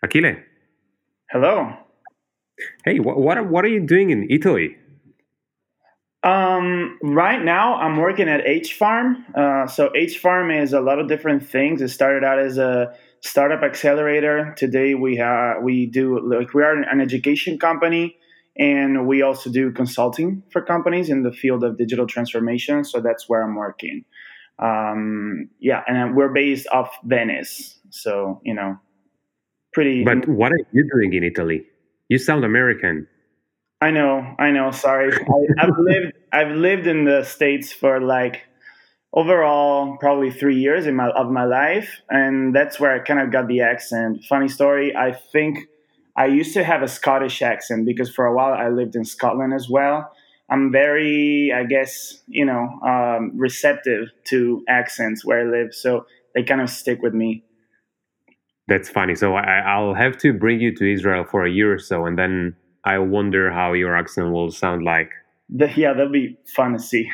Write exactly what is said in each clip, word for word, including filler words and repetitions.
Achille, Hello. hey, what what are, what are you doing in Italy? Um, right now, I'm working at H Farm. Uh, so H Farm is a lot of different things. It started out as a startup accelerator. Today, we ha- we do like we are an education company, and we also do consulting for companies in the field of digital transformation. So that's where I'm working. Um, yeah, and we're based off Venice. So you know, pretty. But what are you doing in Italy? You sound American. I know, I know. Sorry, I, I've lived I've lived in the states for like overall probably three years in my of my life, and that's where I kind of got the accent. Funny story. I think I used to have a Scottish accent because for a while I lived in Scotland as well. I'm very, I guess, you know, um, receptive to accents where I live, so they kind of stick with me. That's funny. So I, I'll have to bring you to Israel for a year or so, and then I wonder how your accent will sound like. The, yeah, that'll be fun to see.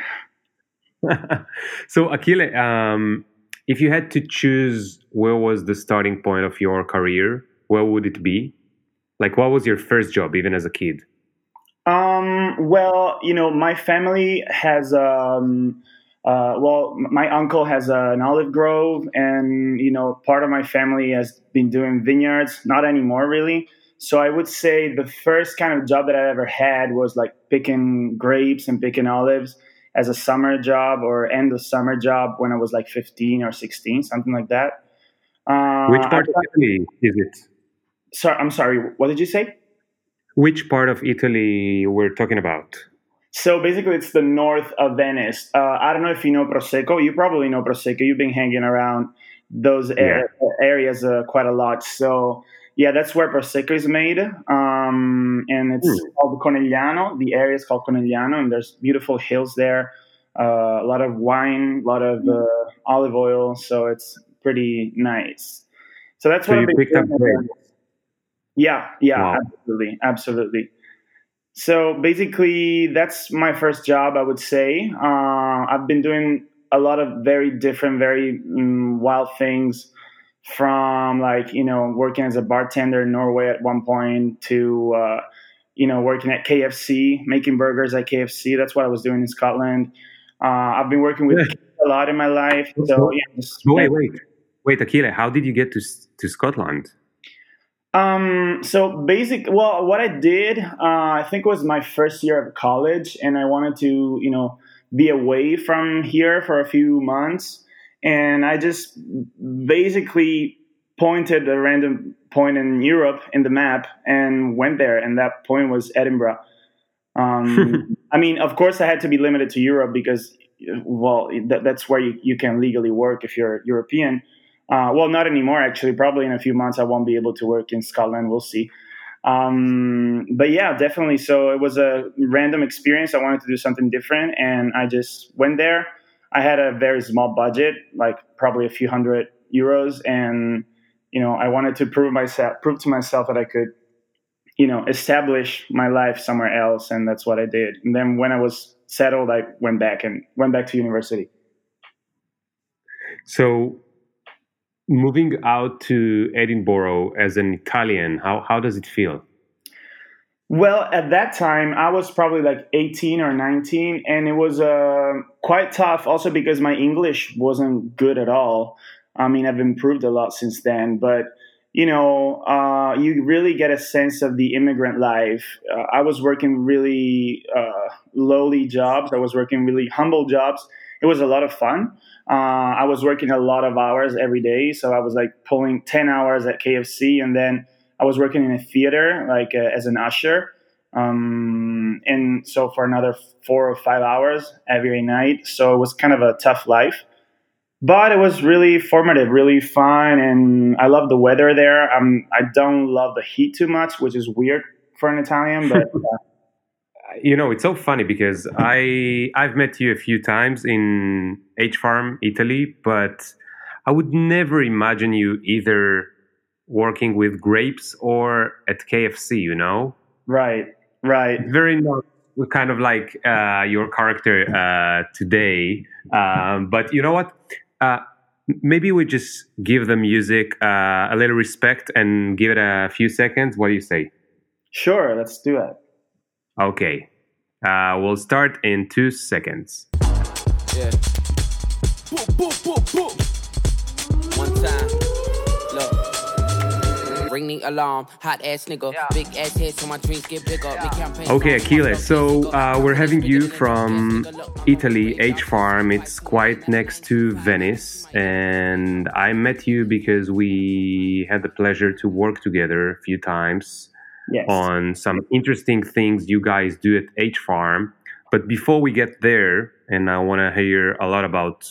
So Achille, um, if you had to choose where was the starting point of your career, where would it be? Like, what was your first job, even as a kid? Um, well, you know, my family has um uh well, m- my uncle has uh, an olive grove, and you know, part of my family has been doing vineyards, not anymore really. So I would say the first kind of job that I ever had was like picking grapes and picking olives as a summer job or end of summer job when I was like fifteen or sixteen, something like that. Uh, Which I, part of Italy is it? sorry, I'm sorry. What did you say? Which part of Italy we're talking about? So basically, it's the north of Venice. Uh, I don't know if you know Prosecco. You probably know Prosecco. You've been hanging around those Yeah. a- areas uh, quite a lot. So yeah, that's where Prosecco is made, um, and it's Hmm. called Conegliano. The area is called Conegliano, and there's beautiful hills there. Uh, a lot of wine, a lot of uh, olive oil. So it's pretty nice. So that's So what I've you been picked up grapes. doing. Yeah, yeah, Wow. absolutely, absolutely. So basically, that's my first job, I would say. Uh, I've been doing a lot of very different, very mm, wild things from like, you know, working as a bartender in Norway at one point to, uh, you know, working at K F C, making burgers at K F C. That's what I was doing in Scotland. Uh, I've been working with Yeah. kids a lot in my life. So, So, so- yeah, just so wait, wait, wait, Achille, how did you get to S- to Scotland? Um, so basic, well, what I did, uh, I think was my first year of college, and I wanted to, you know, be away from here for a few months. And I just basically pointed a random point in Europe in the map and went there. And that point was Edinburgh. Um, I mean, of course, I had to be limited to Europe because, well, that, that's where you, you can legally work if you're European. Uh, well, not anymore, actually. Probably in a few months, I won't be able to work in Scotland. We'll see. Um, but yeah, definitely. So it was a random experience. I wanted to do something different, and I just went there. I had a very small budget, like probably a few hundred euros, and you know, I wanted to prove myself, prove to myself that I could, you know, establish my life somewhere else, and that's what I did. And then when I was settled, I went back and went back to university. So moving out to Edinburgh as an Italian, how how does it feel? Well, at that time, I was probably like eighteen or nineteen, and it was uh, quite tough also because my English wasn't good at all. I mean, I've improved a lot since then, but you know, uh, you really get a sense of the immigrant life. Uh, I was working really uh, lowly jobs, I was working really humble jobs. It was a lot of fun. Uh, I was working a lot of hours every day, so I was like pulling ten hours at K F C, and then I was working in a theater, like uh, as an usher, um, and so for another four or five hours every night. So it was kind of a tough life, but it was really formative, really fun, and I love the weather there. Um, I don't love the heat too much, which is weird for an Italian, but You know, it's so funny because I I've met you a few times in H Farm, Italy, but I would never imagine you either working with grapes or at K F C, you know? right, right. It's very not kind of like uh, your character uh, today. Um, but you know what? Uh, maybe we just give the music uh, a little respect and give it a few seconds. What do you say? Sure, let's do it. Okay. Uh, we'll start in two seconds. Yeah. Boom, boom, boom, boom. One time. Look. Ring the alarm. Hot ass nigga. Yeah. Big ass head so my dreams get bigger. Yeah. Okay, Achilles. So uh, we're having you from Italy, H Farm. It's quite next to Venice. And I met you because we had the pleasure to work together a few times. Yes. On some interesting things you guys do at H Farm. But before we get there, and I want to hear a lot about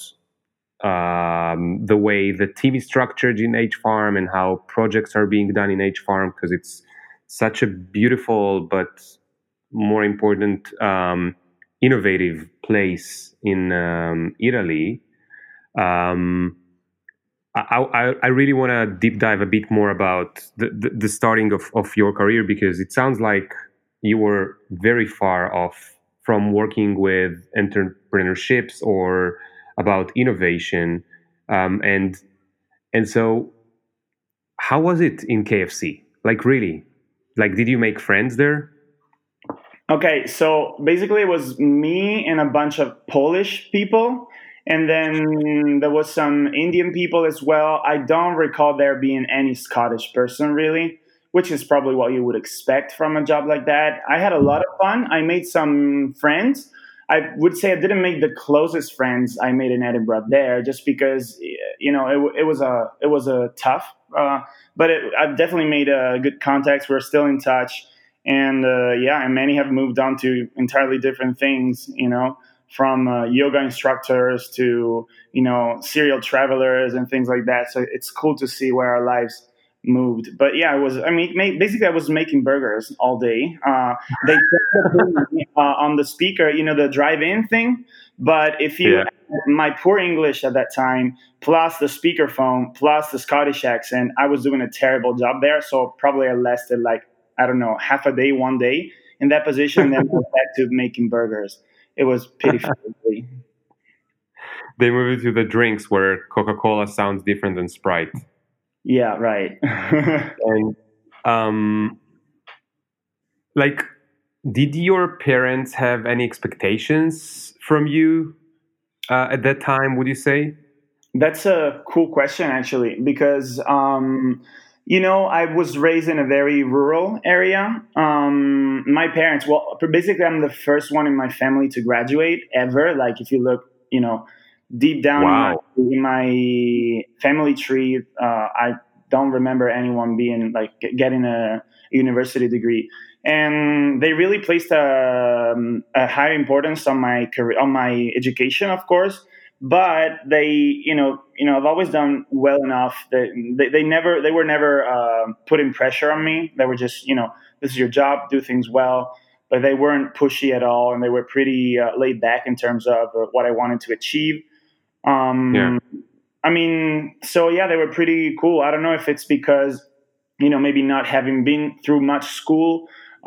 um, the way the team is structured in H Farm and how projects are being done in H Farm, because it's such a beautiful but more important, um, innovative place in um, Italy. Um, I, I, I really want to deep dive a bit more about the, the, the starting of, of your career, because it sounds like you were very far off from working with entrepreneurships or about innovation. Um, and and so how was it in K F C? Like, really? Like, did you make friends there? Okay, so basically it was me and a bunch of Polish people. And then there was some Indian people as well. I don't recall there being any Scottish person really, which is probably what you would expect from a job like that. I had a lot of fun. I made some friends. I would say I didn't make the closest friends I made in Edinburgh there, just because, you know, it, it was a it was a tough. Uh, but it, I've definitely made uh, good contacts. We're still in touch, and uh, yeah, and many have moved on to entirely different things. You know. From uh, yoga instructors to, you know, serial travelers and things like that. So it's cool to see where our lives moved. But yeah, I was, I mean, basically I was making burgers all day. Uh, they uh, on the speaker, you know, the drive-in thing. But if you, yeah. my poor English at that time, plus the speakerphone, plus the Scottish accent, I was doing a terrible job there. So probably I lasted like, I don't know, half a day, one day in that position. And then I went back to making burgers. It was pitiful. They moved to the drinks where Coca-Cola sounds different than Sprite. Yeah, right. And um, like, did your parents have any expectations from you uh, at that time, would you say? That's a cool question, actually, because um, you know, I was raised in a very rural area. Um, my parents, well, basically, I'm the first one in my family to graduate ever. Like, if you look, you know, deep down wow. in, my, in my family tree, uh, I don't remember anyone being like getting a university degree. And they really placed a, a high importance on my career, on my education, of course. But they, you know, you know, I've always done well enough that they, they never, they were never uh, putting pressure on me. They were just, you know, this is your job, do things well. But they weren't pushy at all, and they were pretty uh, laid back in terms of uh, what I wanted to achieve. Um, yeah. I mean, so yeah, they were pretty cool. I don't know if it's because, you know, maybe not having been through much school.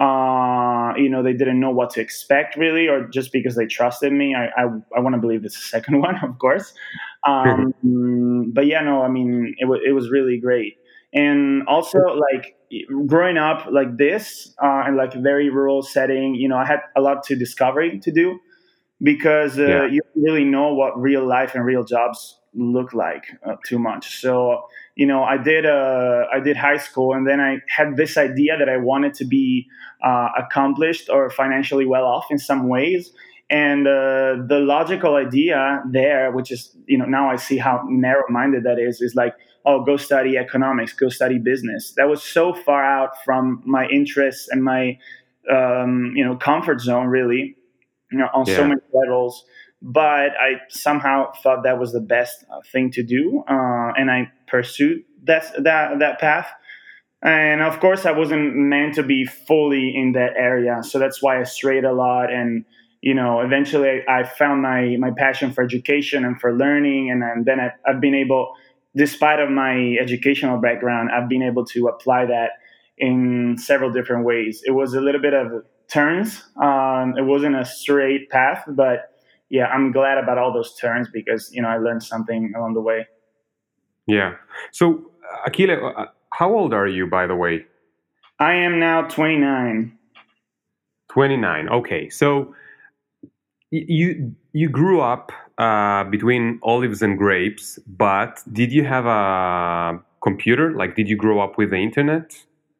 Uh, you know, they didn't know what to expect really, or just because they trusted me. I I, I want to believe it's the second one, of course. Um, but yeah, no, I mean, it was it was really great, and also like growing up like this uh, in like a very rural setting. You know, I had a lot to discovery to do because uh, yeah. you don't really know what real life and real jobs look like uh, too much. So you know, I did uh, I did high school, and then I had this idea that I wanted to be uh, accomplished or financially well off in some ways. And uh, the logical idea there, which is, you know, now I see how narrow-minded that is, is like, oh, go study economics, go study business. That was so far out from my interests and my, um, you know, comfort zone, really, you know, on yeah. so many levels. But I somehow thought that was the best thing to do, uh, and I pursued that that that path. And of course, I wasn't meant to be fully in that area, so that's why I strayed a lot. And you know, eventually, I found my my passion for education and for learning, and, and then I, I've been able, despite of my educational background, I've been able to apply that in several different ways. It was a little bit of turns. Um, it wasn't a straight path, but yeah, I'm glad about all those turns because, you know, I learned something along the way. Yeah. So, Akile, uh, how old are you, by the way? I am now twenty-nine. twenty-nine. Okay. So, y- you you grew up uh, between olives and grapes, but did you have a computer? Like, did you grow up with the internet?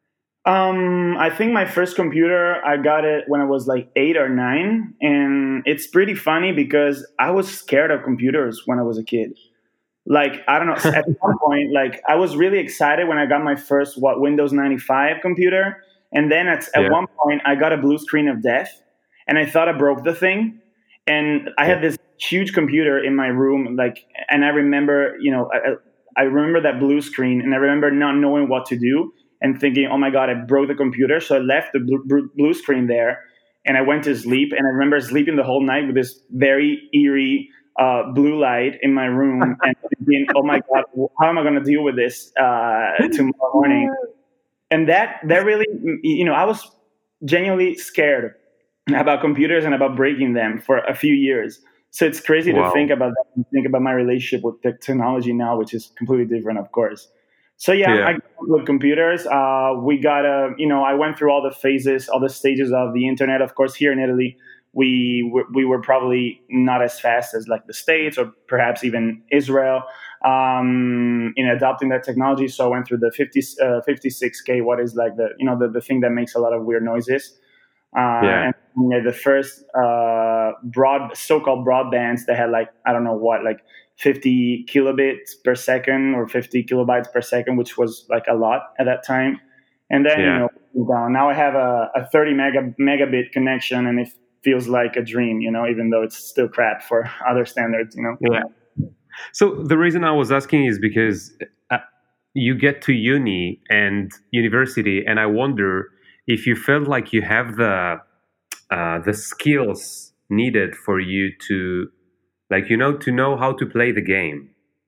Um, I think my first computer, I got it when I was like eight or nine. And it's pretty funny because I was scared of computers when I was a kid. Like, I don't know, at one point, like, I was really excited when I got my first, what, Windows ninety-five computer. And then at, at Yeah. one point, I got a blue screen of death and I thought I broke the thing. And I Yeah. had this huge computer in my room, like, and I remember, you know, I, I remember that blue screen, and I remember not knowing what to do and thinking, "Oh my God, I broke the computer." So I left the blue, blue screen there, and I went to sleep. And I remember sleeping the whole night with this very eerie uh, blue light in my room, and thinking, "Oh my God, how am I going to deal with this uh, tomorrow morning?" And that that really, you know, I was genuinely scared about computers and about breaking them for a few years. So it's crazy to Wow. think about that and think about my relationship with the technology now, which is completely different, of course. So yeah, I Yeah. grew up with computers. Uh, we got a, you know, I went through all the phases, all the stages of the internet. Of course, here in Italy, we were, we were probably not as fast as like the States or perhaps even Israel um, in adopting that technology. So I went through the fifty, uh, fifty-six K, what is like the, you know, the, the thing that makes a lot of weird noises. Uh, Yeah. and you know, the first uh, broad, so-called broadbands that had like I don't know what, like fifty kilobits per second or fifty kilobytes per second, which was like a lot at that time. And then you Yeah. know, down. Now I have a, a thirty mega megabit connection, and it feels like a dream. You know, even though it's still crap for other standards. You know. Yeah. So the reason I was asking is because uh, you get to uni and university, and I wonder if you felt like you have the uh, the skills needed for you to, like, you know, to know how to play the game.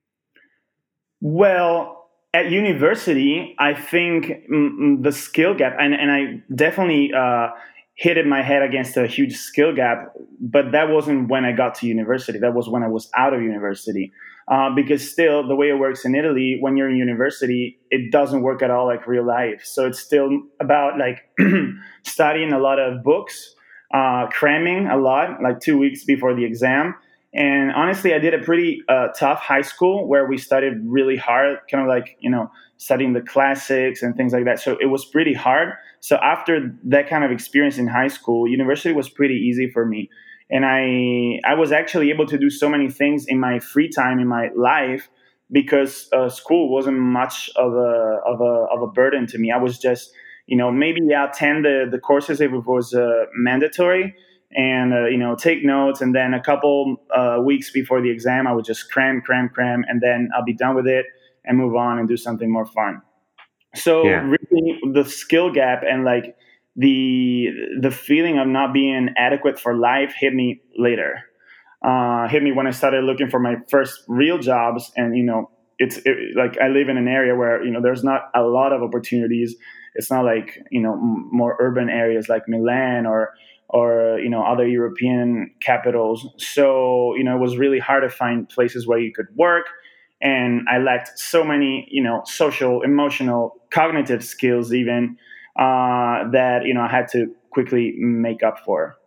Well, at university, I think mm, mm, the skill gap, and, and I definitely uh, hit my head against a huge skill gap, but that wasn't when I got to university. That was when I was out of university. Uh, because still, the way it works in Italy, when you're in university, it doesn't work at all like real life. So it's still about like studying a lot of books, uh, cramming a lot, like two weeks before the exam, and honestly, I did a pretty uh, tough high school where we studied really hard, kind of like, you know, studying the classics and things like that. So it was pretty hard. So after that kind of experience in high school, university was pretty easy for me. And I, I was actually able to do so many things in my free time in my life because uh, school wasn't much of a, of, a, of a burden to me. I was just, you know, maybe attend the, the courses if it was uh, mandatory, and uh, you know, take notes, and then a couple uh, weeks before the exam I would just cram cram cram, and then I'll be done with it and move on and do something more fun. So Yeah. really the skill gap and like the the feeling of not being adequate for life hit me later. Uh, hit me when I started looking for my first real jobs. And you know, it's it, like I live in an area where you know there's not a lot of opportunities. It's not like you know m- more urban areas like Milan or or you know other European capitals. So you know it was really hard to find places where you could work, and I lacked so many you know social, emotional, cognitive skills even uh, that you know I had to quickly make up for.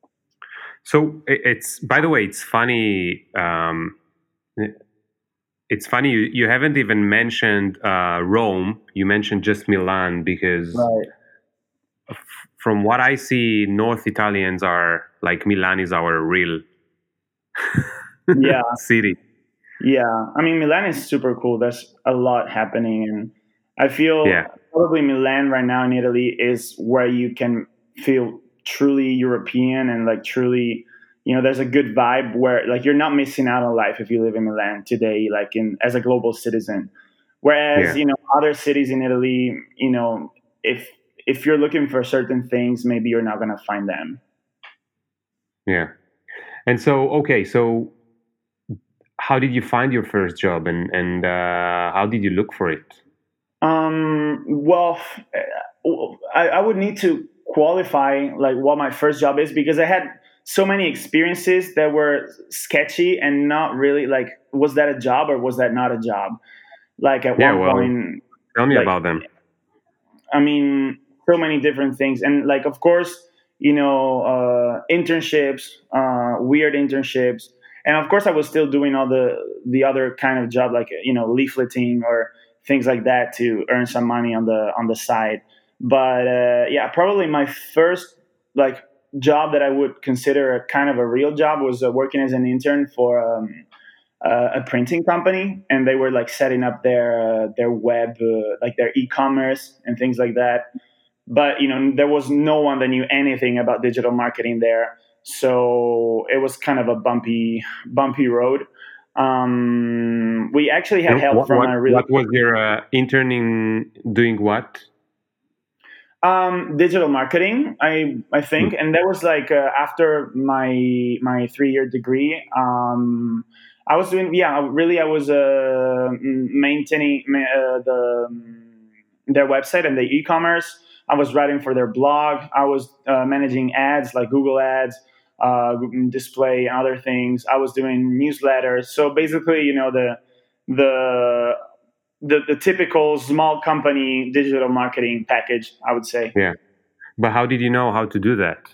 So i- it's, by the way, it's funny. Um, it's funny you, you haven't even mentioned uh, Rome. You mentioned just Milan because Right. from what I see, North Italians are like Milan is our real Yeah. city. Yeah, I mean Milan is super cool. There's a lot happening, and I Yeah. feel probably Milan right now in Italy is where you can feel truly European and like truly, you know, there's a good vibe where like you're not missing out on life if you live in Milan today, like in as a global citizen. Whereas Yeah. you know other cities in Italy, you know, if if you're looking for certain things, maybe you're not gonna find them. Yeah. And so, okay, so how did you find your first job, and and uh, how did you look for it? Um, well, I, I would need to qualify like what my first job is because I had so many experiences that were sketchy and not really like was that a job or was that not a job? Like at Yeah, one well, point, tell me like about them. I mean, so many different things, and like of course, you know, uh, internships, uh, weird internships, and of course, I was still doing all the the other kind of job, like you know, leafleting or things like that to earn some money on the on the side. But uh, yeah, probably my first like job that I would consider a kind of a real job was uh, working as an intern for. Um, uh, a printing company, and they were like setting up their uh, their web, uh, like their e-commerce and things like that. But you know, there was no one that knew anything about digital marketing there, so it was kind of a bumpy bumpy road. Um, we actually had And help what from what a really what was your uh, intern in doing what? Um, digital marketing, I I Hmm. think, and that was like uh, after my my three year degree. Um, I was doing yeah, really, I was uh, maintaining ma- uh, the their website and the e commerce. I was writing for their blog. I was uh, managing ads like Google Ads, uh, display, and other things. I was doing newsletters. So basically, you know the the the, the typical small company digital marketing package, I would say. Yeah, but how did you know how to do that?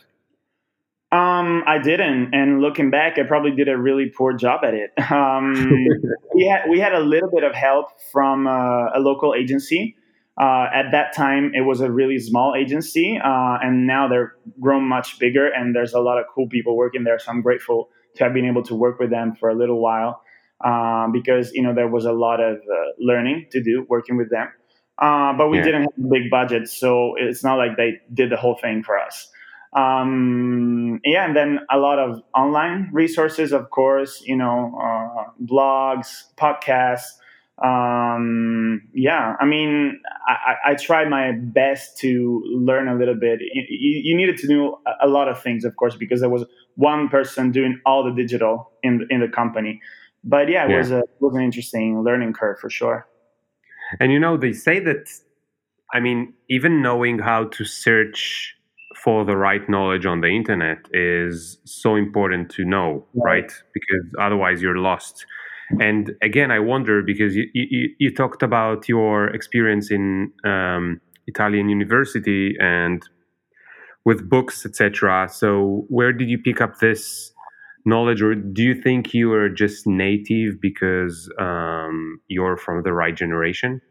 Um, I didn't, and looking back, I probably did a really poor job at it. Um, we had we had a little bit of help from uh, a local agency. Uh, at that time, it was a really small agency, uh, and now they're grown much bigger, and there's a lot of cool people working there. So I'm grateful to have been able to work with them for a little while, um, because you know there was a lot of uh, learning to do working with them. Uh, but we Yeah, didn't have a big budget, so it's not like they did the whole thing for us. Um, yeah, and then a lot of online resources, of course, you know, uh, blogs, podcasts. Um, yeah, I mean, I, I I try my best to learn a little bit. You, you needed to do a a lot of things, of course, because there was one person doing all the digital in the, in the company. But yeah, it yeah. was a it was an interesting learning curve for sure. And you know, they say that, I mean, even knowing how to search for the right knowledge on the internet is so important to know, Right. right? Because otherwise you're lost. And again, I wonder because you, you, you talked about your experience in um, Italian university and with books, et cetera. So, where did you pick up this knowledge, or do you think you are just native because um, you're from the right generation?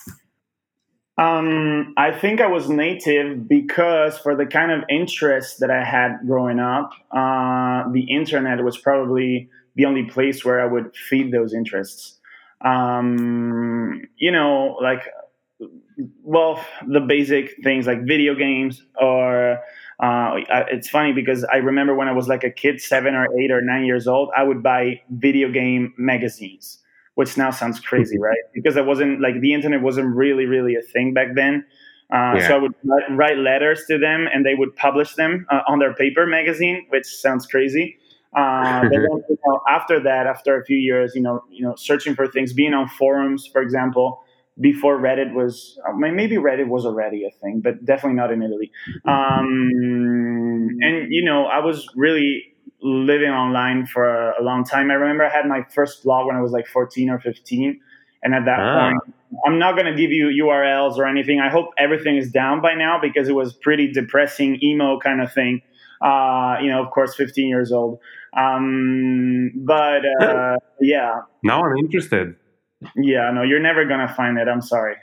Um, I think I was native because for the kind of interest that I had growing up, uh, the internet was probably the only place where I would feed those interests. Um, you know, like, well, the basic things like video games or uh, I- it's funny because I remember when I was like a kid, seven or eight or nine years old, I would buy video game magazines, which now sounds crazy, right? Because it wasn't like the internet wasn't really, really a thing back then. Uh, so Yeah. I would write write letters to them, and they would publish them uh, on their paper magazine, which sounds crazy. Uh, but then, you know, after that, after a few years, you know, you know, searching for things, being on forums, for example, before Reddit was, uh, may- maybe Reddit was already a thing, but definitely not in Italy. Um, and you know, I was really living online for a, a long time. I remember I had my first blog when I was like fourteen or fifteen, and at that Ah, point, I'm not going to give you U R Ls or anything. I hope everything is down by now because it was pretty depressing emo kind of thing. Uh, you know, of course, fifteen years old. Um, but uh, yeah, now I'm interested. yeah, no, you're never gonna find it. I'm sorry.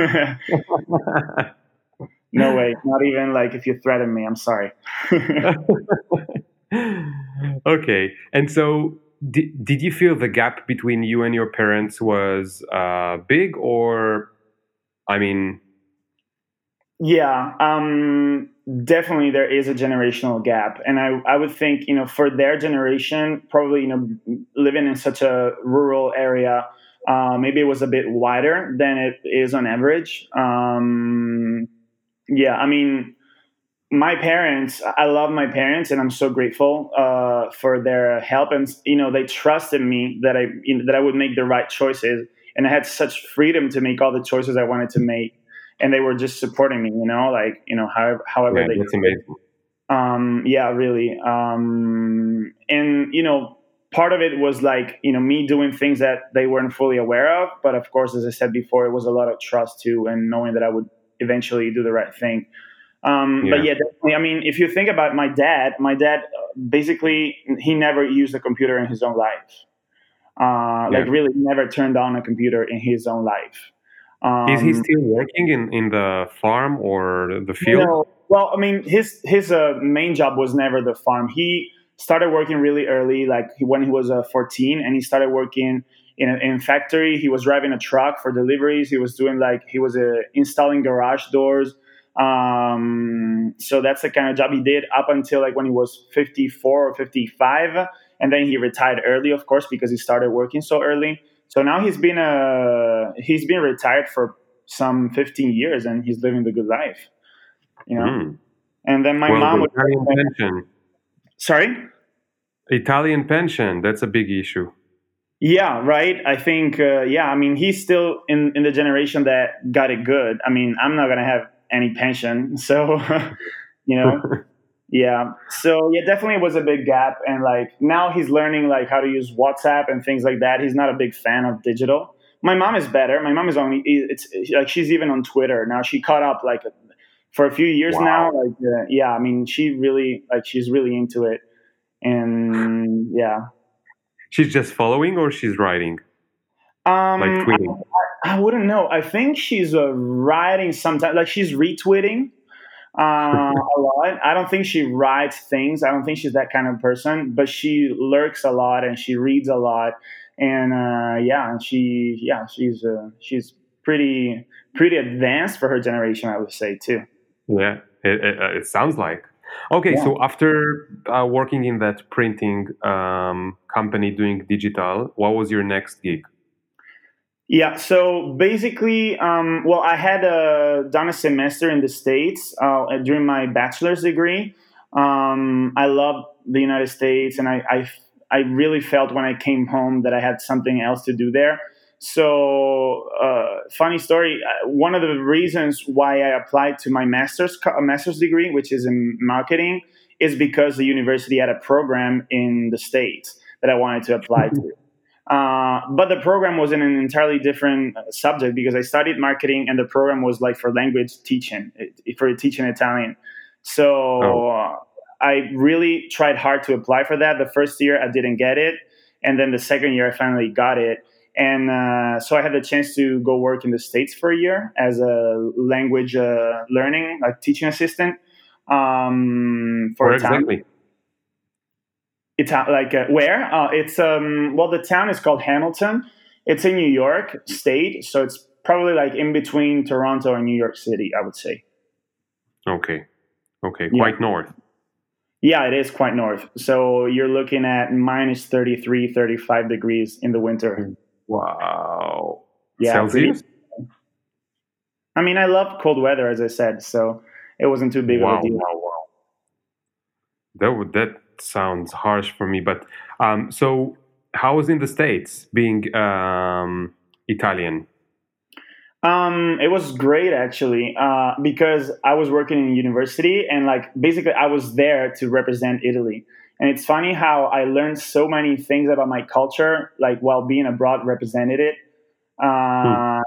No way. Not even like if you threaten me. I'm sorry. Okay. And so, did, did you feel the gap between you and your parents was uh, big, or, I mean, Yeah, um, definitely there is a generational gap, and I I would think you know for their generation, probably you know living in such a rural area, uh, maybe it was a bit wider than it is on average. Um, yeah, I mean my parents, I love my parents, and I'm so grateful uh, for their help. And you know, they trusted me that I you know, that I would make the right choices, and I had such freedom to make all the choices I wanted to make. And they were just supporting me, you know, like you know, however however yeah, they that's could. amazing. Um, yeah, really. Um, and you know, part of it was like, you know, me doing things that they weren't fully aware of. But of course, as I said before, it was a lot of trust too, and knowing that I would eventually do the right thing. Um, Yeah. But yeah, definitely. I mean, if you think about my dad, my dad uh, basically he never used a computer in his own life. Uh, Yeah. like really, never turned on a computer in his own life. Is he Um, still working in, in the farm or the field? no, well, I mean, his his uh, main job was never the farm. He started working really early, like when he was uh, fourteen, and he started working in a in factory. He was driving a truck for deliveries. He was doing like he was uh, installing garage doors. Um, so that's the kind of job he did up until like when he was fifty-four or fifty-five, and then he retired early, of course, because he started working so early. So now he's been uh he's been retired for some fifteen years, and he's living the good life, you know. Mm. And then my Well, mom the was Italian pension. sorry. Italian pension, that's a big issue. Yeah, right. I think, uh, yeah, I mean, he's still in, in the generation that got it good. I mean, I'm not going to have any pension. So, you know, yeah. So, yeah, definitely was a big gap. And like now he's learning like how to use WhatsApp and things like that. He's not a big fan of digital. My mom is better. My mom is only, it's like she's even on Twitter. Now she caught up like for a few years Wow. now. Like, uh, yeah, I mean, she really, like, she's really into it. And yeah. She's just following or she's writing? Um, Like tweeting? I, I wouldn't know. I think she's uh, writing sometimes, like she's retweeting uh, a lot. I don't think she writes things. I don't think she's that kind of person, but she lurks a lot and she reads a lot. And uh, yeah, and she, yeah, she's uh, she's pretty pretty advanced for her generation, I would say too. Yeah, it, it, uh, it sounds like. Okay, Yeah. so after uh, working in that printing um, company doing digital, what was your next gig? Yeah, so basically, um, well, I had uh, done a semester in the States uh, during my bachelor's degree. Um, I loved the United States, and I, I, I really felt when I came home that I had something else to do there. So, uh, funny story. uh, One of the reasons why I applied to my master's co- master's degree, which is in marketing, is because the university had a program in the States that I wanted to apply to. Uh, but the program was in an entirely different uh, subject because I studied marketing, and the program was like for language teaching, it- for teaching Italian. So Oh. uh, I really tried hard to apply for that. The first year I didn't get it, and then the second year I finally got it. And uh, so I had the chance to go work in the States for a year as a language uh, learning, like teaching assistant um, for Where Italian. exactly? Ita- like uh, where? Uh, it's um well, the town is called Hamilton. It's in New York State, so it's probably like in between Toronto and New York City, I would say. Okay, okay, Yeah. quite north. Yeah, it is quite north. So you're looking at minus thirty-three, thirty-five degrees in the winter. Wow. Yeah, Celsius? pretty- I mean, I love cold weather, as I said, so it wasn't too big Wow, of a deal. wow, wow. That would that sounds harsh for me, but um, so how was in the States being um, Italian? Um, it was great actually, uh, because I was working in university and like basically I was there to represent Italy. And it's funny how I learned so many things about my culture, like while being abroad, represented it. Hmm.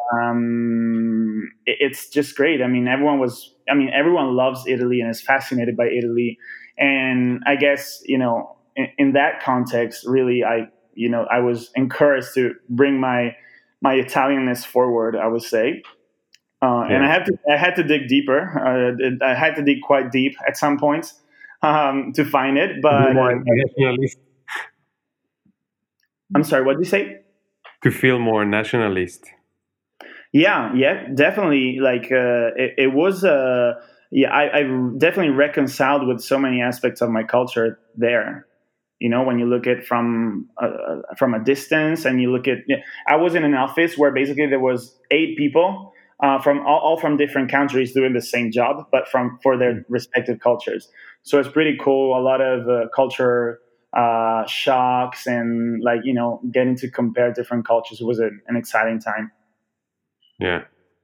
Um, it- it's just great. I mean, everyone was, I mean, everyone loves Italy and is fascinated by Italy. And I guess, you know, in, in that context, really, I, you know, I was encouraged to bring my, my Italianness forward, I would say. Uh, and I Yeah. had to, I had to dig deeper. Uh, it- I had to dig quite deep at some points um, to find it. To be But more uh, nationalist, I'm sorry, what did you say? to feel more nationalist. Yeah, yeah, definitely. Like uh, it, it was. Uh, yeah, I, I definitely reconciled with so many aspects of my culture there. You know, when you look at from uh, from a distance, and you look at, yeah, I was in an office where basically there was eight people uh, from all, all from different countries doing the same job, but from for their respective cultures. So it's pretty cool. A lot of uh, culture uh, shocks and like you know getting to compare different cultures was a, an exciting time. Yeah.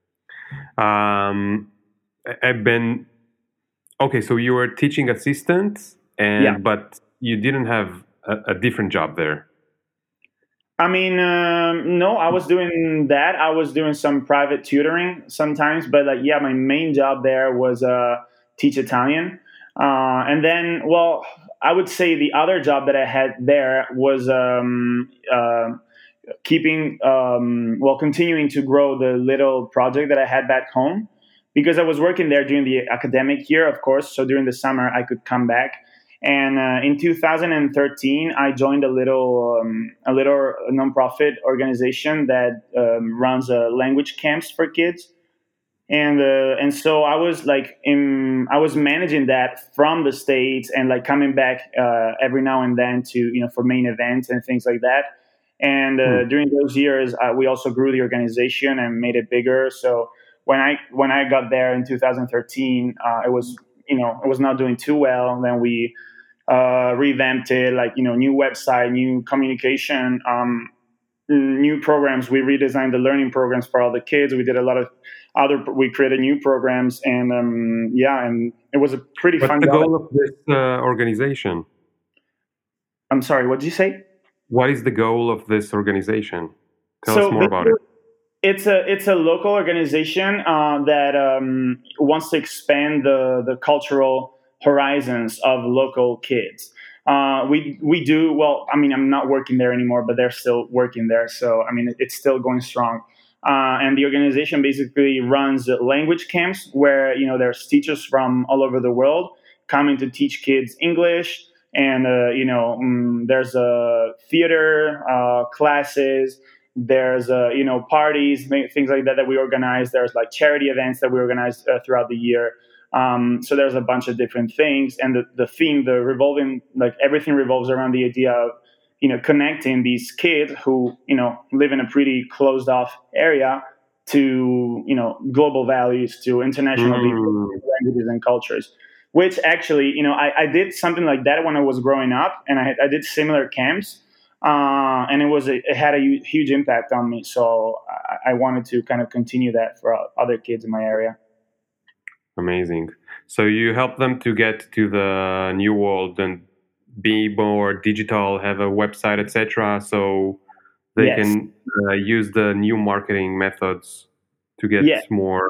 Um, I- I've been okay. So you were teaching assistant, and Yeah. but you didn't have a, a different job there. I mean, um, no, I was doing that. I was doing some private tutoring sometimes, but like, yeah, my main job there was uh, teach Italian. Uh, and then, well, I would say the other job that I had there was um, uh, keeping, um, well, continuing to grow the little project that I had back home because I was working there during the academic year, of course. So during the summer, I could come back. And uh, in two thousand thirteen, I joined a little um, a little nonprofit organization that um, runs uh, language camps for kids. And uh, and so I was like in I was managing that from the States and like coming back uh, every now and then to you know for main events and things like that. And uh, Hmm. during those years, uh, we also grew the organization and made it bigger. So when I when I got there in two thousand thirteen, uh, it was you know it was not doing too well. Then we uh, revamped it, like you know, new website, new communication, um, new programs. We redesigned the learning programs for all the kids. We did a lot of other. We created new programs, and um, yeah, and it was a pretty What's fun the job. goal of this uh, organization? I'm sorry, what did you say? What is the goal of this organization? Tell us So more about it. it's a it's a local organization uh, that um, wants to expand the the cultural horizons of local kids. Uh, we we do well. I mean, I'm not working there anymore, but they're still working there. So I mean, it's still going strong. Uh, and the organization basically runs language camps where you know there's teachers from all over the world coming to teach kids English. And uh, you know, um, there's a theater uh, classes, there's uh, you know parties, things like that that we organize. There's like charity events that we organize uh, throughout the year. Um, so there's a bunch of different things, and the, the theme, the revolving, like everything revolves around the idea of you know connecting these kids who you know live in a pretty closed off area to you know global values, to international people, Mm. languages, and cultures. Which actually, you know, I, I did something like that when I was growing up, and I, had, I did similar camps uh, and it was a, it had a huge impact on me. So I, I wanted to kind of continue that for other kids in my area. Amazing. So you help them to get to the new world and be more digital, have a website, et cetera. So they Yes. can uh, use the new marketing methods to get Yeah. more.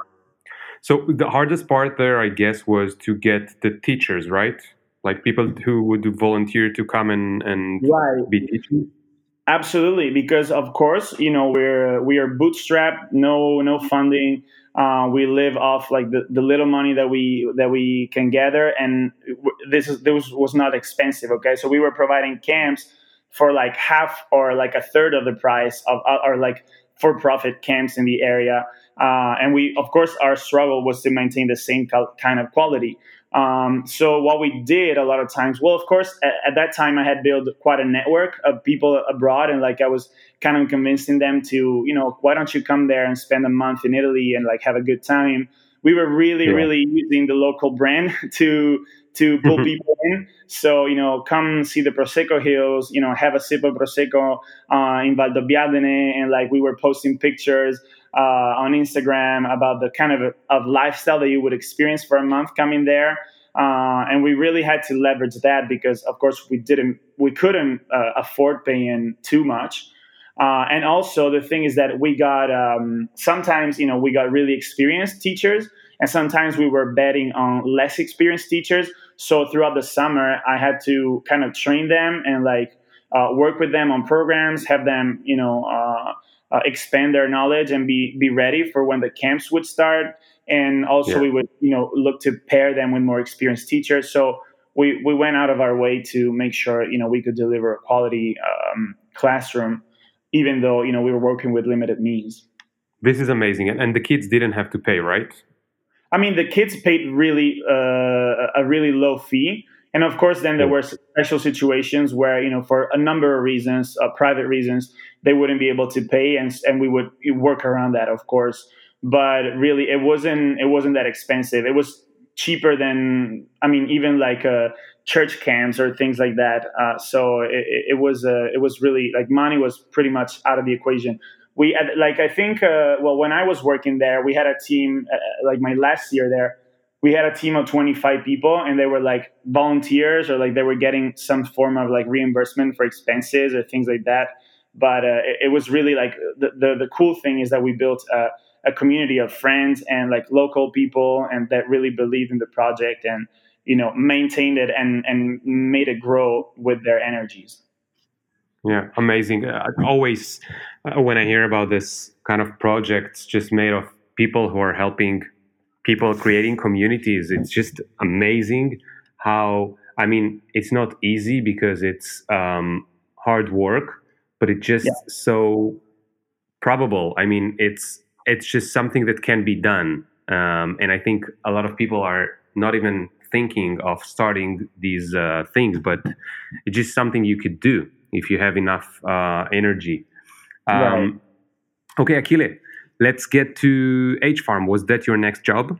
So the hardest part there, I guess, was to get the teachers, right? Like people who would volunteer to come and, and Right. be teaching. Absolutely, because of course, you know, we're we are bootstrapped, no no funding. Uh, we live off like the, the little money that we that we can gather, and this is this was not expensive. Okay, so we were providing camps for like half or like a third of the price of or like for profit camps in the area, uh, and we of course our struggle was to maintain the same kind of quality. Um, so what we did a lot of times, well, of course, at, at that time I had built quite a network of people abroad, and like I was kind of convincing them to, you know, why don't you come there and spend a month in Italy and like have a good time. We were really, Yeah. really using the local brand to to pull people in. So you know, come see the Prosecco Hills, you know, have a sip of Prosecco uh, in Valdobbiadene, and like we were posting pictures uh, on Instagram about the kind of of lifestyle that you would experience for a month coming there. Uh, and we really had to leverage that because, of course, we didn't, we couldn't uh, afford paying too much. Uh, and also, the thing is that we got um, sometimes, you know, we got really experienced teachers, and sometimes we were betting on less experienced teachers. So throughout the summer, I had to kind of train them and like uh, work with them on programs, have them, you know. Uh, uh, expand their knowledge and be be ready for when the camps would start. And also Yeah. we would you know look to pair them with more experienced teachers. So we we went out of our way to make sure you know we could deliver a quality um, classroom, even though you know we were working with limited means. This is amazing. And, and the kids didn't have to pay, right? I mean, the kids paid really uh, a really low fee, and of course, then there Yeah. were special situations where you know, for a number of reasons, uh, private reasons, they wouldn't be able to pay, and and we would work around that, of course. But really, it wasn't it wasn't that expensive. It was cheaper than I mean, even like uh, church camps or things like that. Uh, so it, it was uh, it was really like money was pretty much out of the equation. We had, like I think uh, well when I was working there, we had a team uh, like my last year there. We had a team of twenty-five people, and they were like volunteers or like they were getting some form of like reimbursement for expenses or things like that. But uh, it, it was really like the, the the cool thing is that we built a, a community of friends and like local people, and that really believed in the project and you know maintained it and and made it grow with their energies. Yeah, amazing. Uh, always, uh, when I hear about this kind of projects just made of people who are helping people creating communities, it's just amazing how, I mean, it's not easy because it's um, hard work, but it's just Yeah. so probable. I mean, it's it's just something that can be done. Um, and I think a lot of people are not even thinking of starting these uh, things, but it's just something you could do if you have enough uh, energy. Um, Right. Okay, Achille, let's get to H Farm. Was that your next job?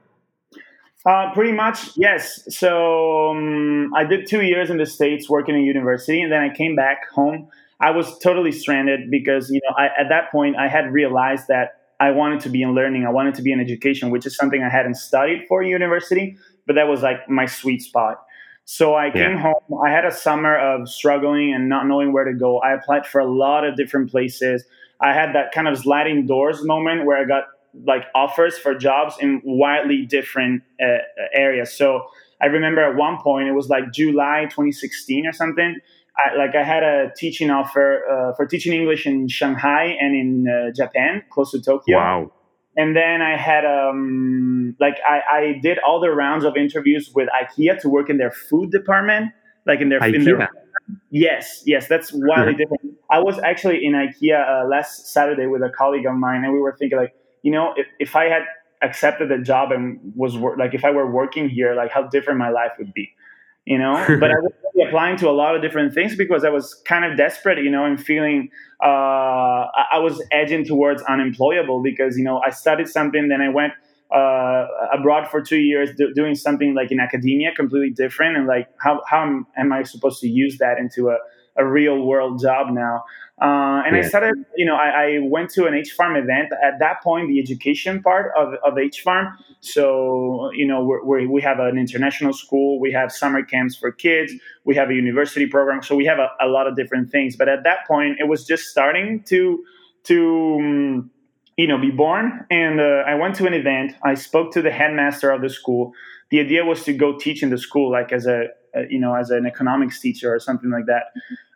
Uh, pretty much, yes. So um, I did two years in the States working in university, and then I came back home. I was totally stranded because, you know, I, at that point I had realized that I wanted to be in learning. I wanted to be in education, which is something I hadn't studied for university, but that was like my sweet spot. So I came Yeah. home. I had a summer of struggling and not knowing where to go. I applied for a lot of different places. I had that kind of sliding doors moment where I got like offers for jobs in widely different uh, areas. So I remember at one point it was like July twenty sixteen or something. I, like I had a teaching offer uh, for teaching English in Shanghai and in uh, Japan, close to Tokyo. Wow. And then I had um like I, I did all the rounds of interviews with IKEA to work in their food department, like in their in their IKEA. Yes, yes, that's wildly different. I was actually in IKEA uh, last Saturday with a colleague of mine, and we were thinking, like, you know, if, if I had accepted the job and was wor- like, if I were working here, like, how different my life would be, you know. But I was really applying to a lot of different things because I was kind of desperate, you know, and feeling uh, I, I was edging towards unemployable because, you know, I studied something, then I went uh, abroad for two years do, doing something like in academia, completely different. And like, how, how am, am I supposed to use that into a, a real world job now? Uh, and I Yeah. started, you know, I, I went to an H Farm event. At that point, the education part of, of H Farm. So, you know, we're, we're, we have an international school. We have summer camps for kids. We have a university program. So we have a, a lot of different things. But at that point, it was just starting to, to, um, you know, be born. And uh, I went to an event. I spoke to the headmaster of the school. The idea was to go teach in the school, like as a, a you know, as an economics teacher or something like that.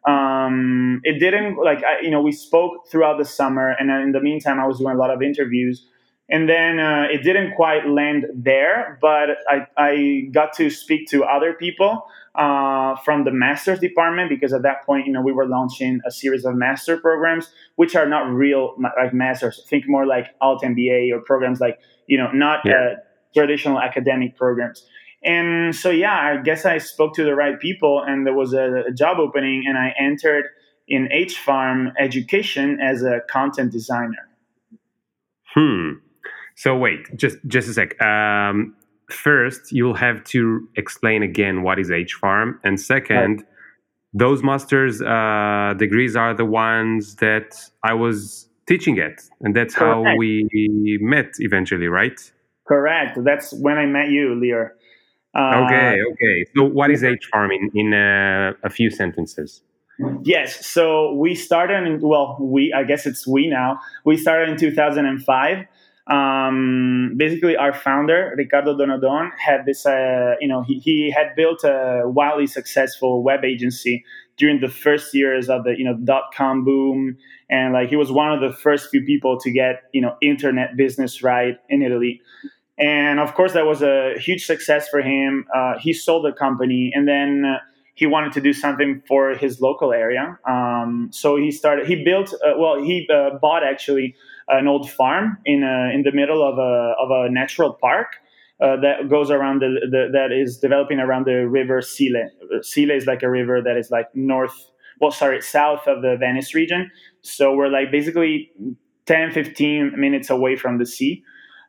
Um, it didn't like, I, you know, we spoke throughout the summer. And in the meantime, I was doing a lot of interviews. And then uh, it didn't quite land there, but I, I got to speak to other people uh, from the master's department because at that point, you know, we were launching a series of master programs, which are not real like masters. Think more like alt M B A or programs like, you know, not Yeah. uh, traditional academic programs. And so, yeah, I guess I spoke to the right people, and there was a, a job opening, and I entered in H Farm Education as a content designer. Hmm. So wait, just just a sec. Um, first, you'll have to explain again what is H Farm, and second, those master's uh, degrees are the ones that I was teaching at, and that's how Correct. we met eventually, right? Correct. That's when I met you, Lear. Uh, Okay, okay. So what is H Farm in in uh, a few sentences? Yes. So we started in, well, we, I guess it's we now. We started in two thousand five. Um, basically, our founder, Ricardo Donadon, had this, uh, you know, he, he had built a wildly successful web agency during the first years of the, you know, dot-com boom. And like, he was one of the first few people to get, you know, internet business right in Italy. And of course, that was a huge success for him. Uh, he sold the company, and then uh, he wanted to do something for his local area. Um, so he started. He built. Uh, well, he uh, bought actually an old farm in a, in the middle of a of a natural park uh, that goes around the, the that is developing around the river Sile. Sile is like a river that is like north. Well, sorry, south of the Venice region. So we're like basically ten, fifteen minutes away from the sea.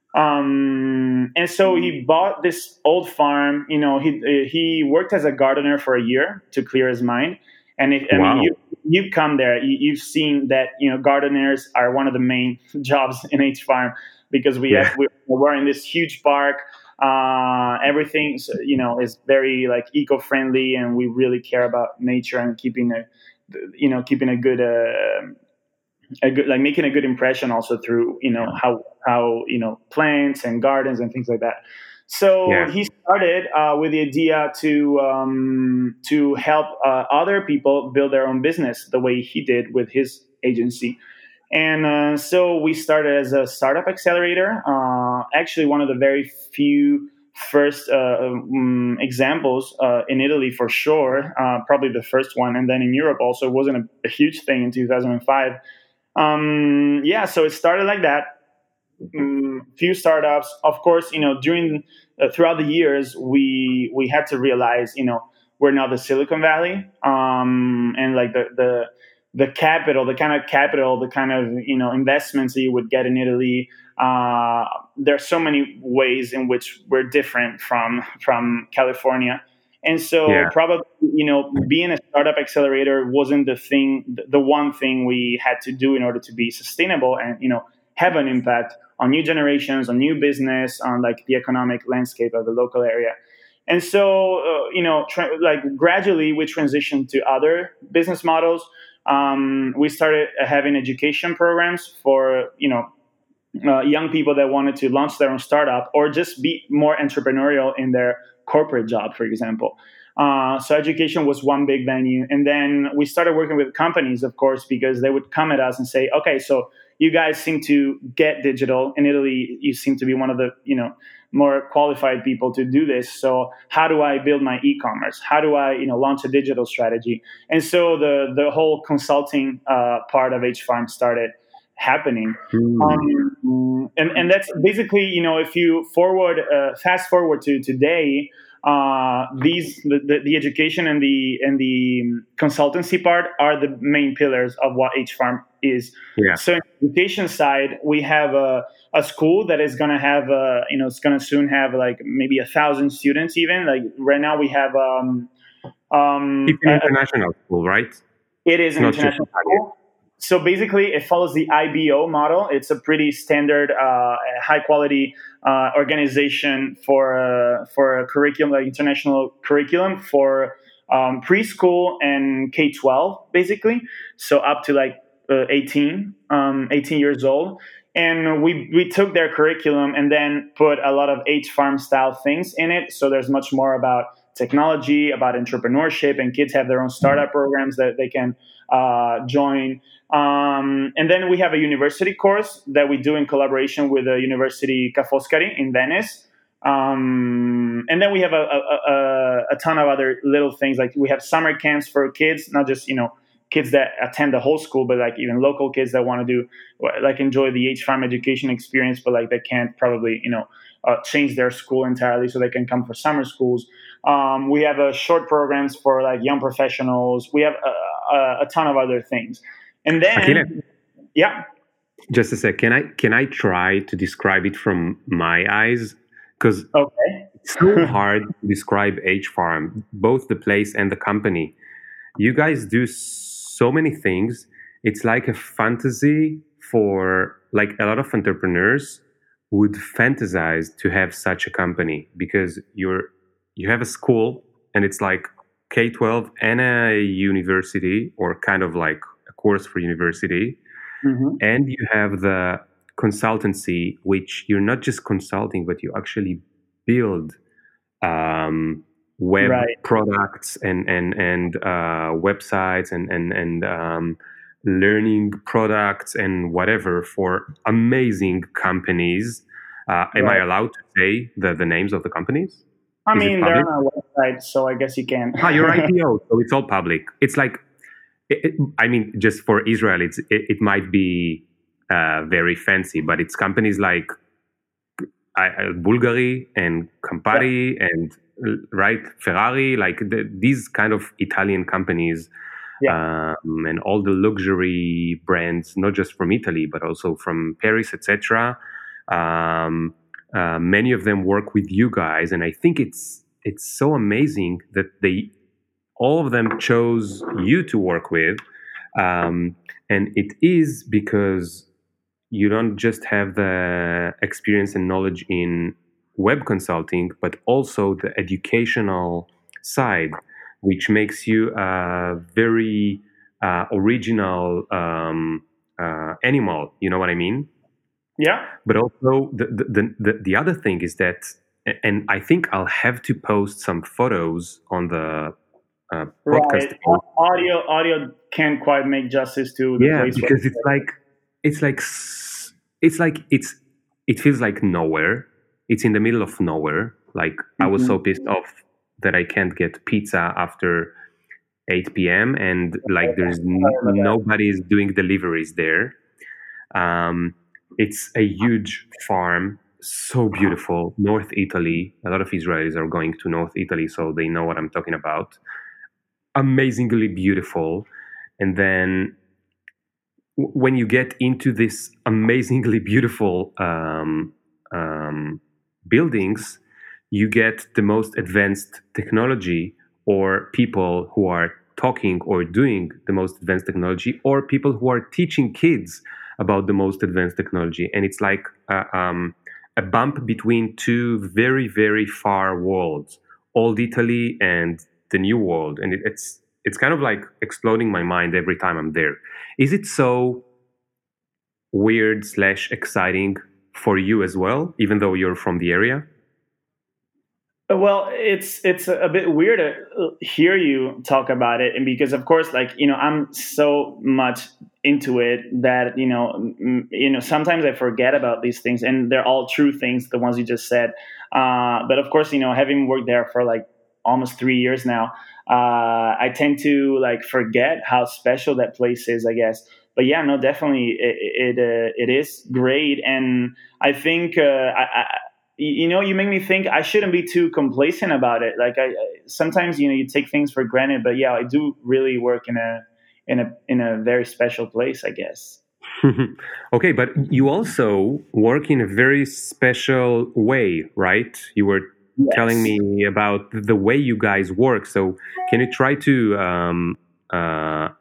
Um, and so he bought this old farm. You know, he he worked as a gardener for a year to clear his mind. And if, I Wow. mean, you you come there, you, you've seen that, you know, gardeners are one of the main jobs in H Farm because we Yeah. have we're, we're in this huge park. Uh, everything, you know, is very like eco-friendly, and we really care about nature and keeping a, you know, keeping a good uh, a good, like making a good impression also through, you know, how, how, you know, plants and gardens and things like that. So Yeah. he started uh, with the idea to um, to help uh, other people build their own business the way he did with his agency. And uh, so we started as a startup accelerator. Uh, actually, one of the very few first uh, um, examples uh, in Italy for sure, uh, probably the first one. And then in Europe also, it wasn't a, a huge thing in two thousand five. Um, yeah, so it started like that. Um, few startups, of course, you know, during uh, throughout the years, we we had to realize, you know, we're not the Silicon Valley, um, and like the the the capital, the kind of capital, the kind of, you know, investments that you would get in Italy. Uh, there are so many ways in which we're different from from California. And so Yeah. probably, you know, being a startup accelerator wasn't the thing, the one thing we had to do in order to be sustainable and, you know, have an impact on new generations, on new business, on like the economic landscape of the local area. And so, uh, you know, tra- like gradually we transitioned to other business models. Um, we started having education programs for, you know, uh, young people that wanted to launch their own startup or just be more entrepreneurial in their corporate job, for example. Uh, so education was one big venue. And then we started working with companies, of course, because they would come at us and say, okay, so you guys seem to get digital. In Italy, you seem to be one of the, you know, more qualified people to do this. So how do I build my e-commerce? How do I, you know, launch a digital strategy? And so the the whole consulting uh, part of H Farm started happening. Mm. Um, and, and that's basically, you know, if you forward, uh, fast forward to today, uh, these the, the, the education and the and the consultancy part are the main pillars of what H Farm is. Yeah. So in the education side, we have a, a school that is going to have, a, you know, it's going to soon have like maybe a thousand students even. Like right now we have. Um, um, It's an a, international school, right? it is an Not just international Italian. school. So basically, it follows the I B O model. It's a pretty standard, uh, high quality uh, organization for uh, for a curriculum, like international curriculum for um, preschool and K twelve, basically. So up to like uh, eighteen, um, eighteen years old. And we we took their curriculum and then put a lot of H Farm style things in it. So there's much more about technology, about entrepreneurship, and kids have their own startup programs that they can uh, join. Um, and then we have a university course that we do in collaboration with the University Ca' Foscari in Venice. Um, and then we have a, a, a, a ton of other little things, like we have summer camps for kids, not just, you know, kids that attend the whole school, but like even local kids that want to do, like enjoy the H Farm education experience, but like they can't probably, you know, uh, change their school entirely, so they can come for summer schools. Um, we have uh, short programs for like young professionals. We have a, a, a ton of other things. And then, Achille, yeah. just a sec. Can I can I try to describe it from my eyes? Because Okay. it's so hard to describe H Farm, both the place and the company. You guys do so many things. It's like a fantasy for like a lot of entrepreneurs would fantasize to have such a company, because you're you have a school and it's like K twelve and a university, or kind of like a course for university. Mm-hmm. And you have the consultancy, which you're not just consulting, but you actually build um, web Right. products and and and uh, websites and and and um, learning products and whatever for amazing companies. Uh, am I Right. allowed to say the the names of the companies? I Is it mean, they're public? on our website, so I guess you can. Ah, you're I P O, so it's all public. It's like, it, it- I mean, just for Israel, it's it, it might be uh, very fancy, but it's companies like uh, Bulgari and Campari and uh, right Ferrari, like the, these kind of Italian companies, Yeah. um, and all the luxury brands, not just from Italy but also from Paris, et cetera. Um, uh, many of them work with you guys, and I think it's it's so amazing that they all of them chose you to work with, um, and it is because you don't just have the experience and knowledge in web consulting, but also the educational side, which makes you a very uh, original um, uh, animal. You know what I mean? Yeah. But also the the, the the the other thing is that, and I think I'll have to post some photos on the uh, podcast. Right. Audio audio can't quite make justice to the Yeah, place. because it's like it's like s- it's like it's it feels like nowhere. It's in the middle of nowhere. Like I was so Mhm. pissed off that I can't get pizza after eight p.m. and like there's n- nobody's doing deliveries there. Um, it's a huge farm, so beautiful. North Italy. A lot of Israelis are going to North Italy, so they know what I'm talking about. Amazingly beautiful. And then w- when you get into this amazingly beautiful um, um, buildings, you get the most advanced technology, or people who are talking or doing the most advanced technology, or people who are teaching kids about the most advanced technology. And it's like a, um, a bump between two very, very far worlds, old Italy and the new world. And it, it's it's kind of like exploding my mind every time I'm there. Is it so weird slash exciting for you as well, even though you're from the area? Well, it's it's a bit weird to hear you talk about it, and because of course, like you know, I'm so much into it that you know, m- you know, sometimes I forget about these things, and they're all true things, the ones you just said. Uh, but of course, you know, having worked there for like almost three years now, uh, I tend to like forget how special that place is, I guess. But yeah, no, definitely, it it, uh, it is great, and I think uh, I, I you know, you make me think I shouldn't be too complacent about it. Like I, I sometimes, you know, you take things for granted, but yeah, I do really work in a in a in a very special place, I guess. Okay, but you also work in a very special way, right? You were telling Yes. me about the way you guys work. So can you try to um, uh,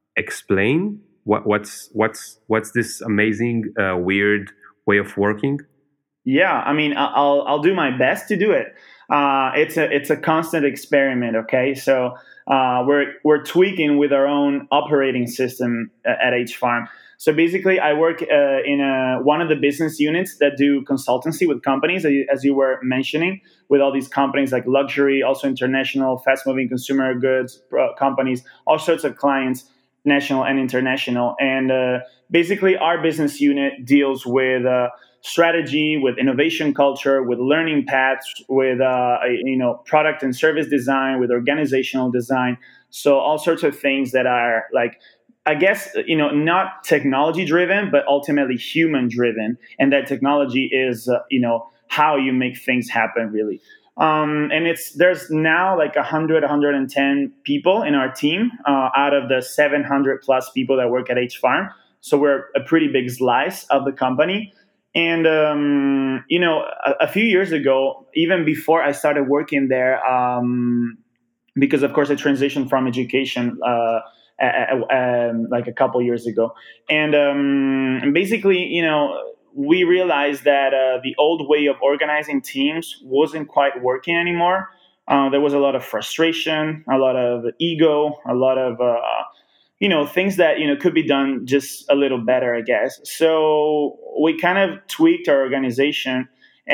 explain what, what's what's what's this amazing, uh, weird way of working? Yeah, I mean, I- I'll I'll do my best to do it. Uh, it's a it's a constant experiment. Okay, so uh, we're we're tweaking with our own operating system a- at H Farm. So basically, I work uh, in a, one of the business units that do consultancy with companies, as you, as you were mentioning, with all these companies like luxury, also international, fast-moving consumer goods uh, companies, all sorts of clients, national and international. And uh, basically, our business unit deals with uh, strategy, with innovation culture, with learning paths, with uh, you know product and service design, with organizational design. So all sorts of things that are like, I guess, you know, not technology driven, but ultimately human driven, and that technology is uh, you know how you make things happen really. Um, and it's there's now like one hundred, one hundred ten people in our team uh, out of the seven hundred plus people that work at H Farm. So we're a pretty big slice of the company. And um, you know, a, a few years ago, even before I started working there, um, because of course I transitioned from education uh, a, a, um, like a couple years ago, and, um, and basically, you know, we realized that uh, the old way of organizing teams wasn't quite working anymore. Uh, there was a lot of frustration, a lot of ego, a lot of uh, you know things that you know could be done just a little better, I guess. So we kind of tweaked our organization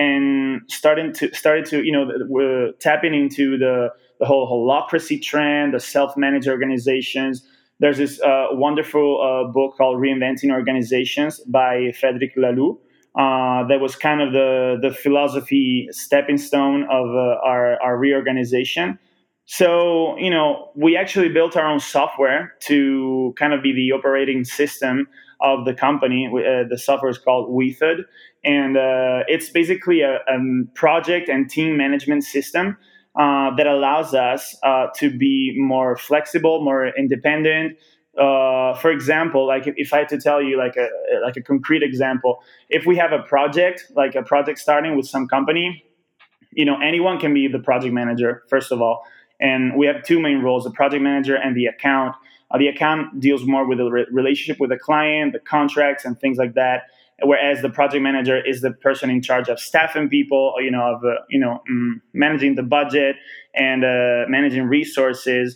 and starting to started to you know we're tapping into the the whole holacracy trend, the self-managed organizations. There's this uh, wonderful uh, book called Reinventing Organizations by Frederic Laloux. Uh, that was kind of the the philosophy stepping stone of uh, our our reorganization. So, you know, we actually built our own software to kind of be the operating system of the company. Uh, the software is called Wethod, and uh, it's basically a, a project and team management system uh, that allows us uh, to be more flexible, more independent. Uh, for example, like if, if I had to tell you like a like a concrete example, if we have a project, like a project starting with some company, you know, anyone can be the project manager, first of all. And we have two main roles, the project manager and the account. Uh, the account deals more with the re- relationship with the client, the contracts and things like that. Whereas the project manager is the person in charge of staffing people, you know, of, uh, you know, mm, managing the budget and uh, managing resources.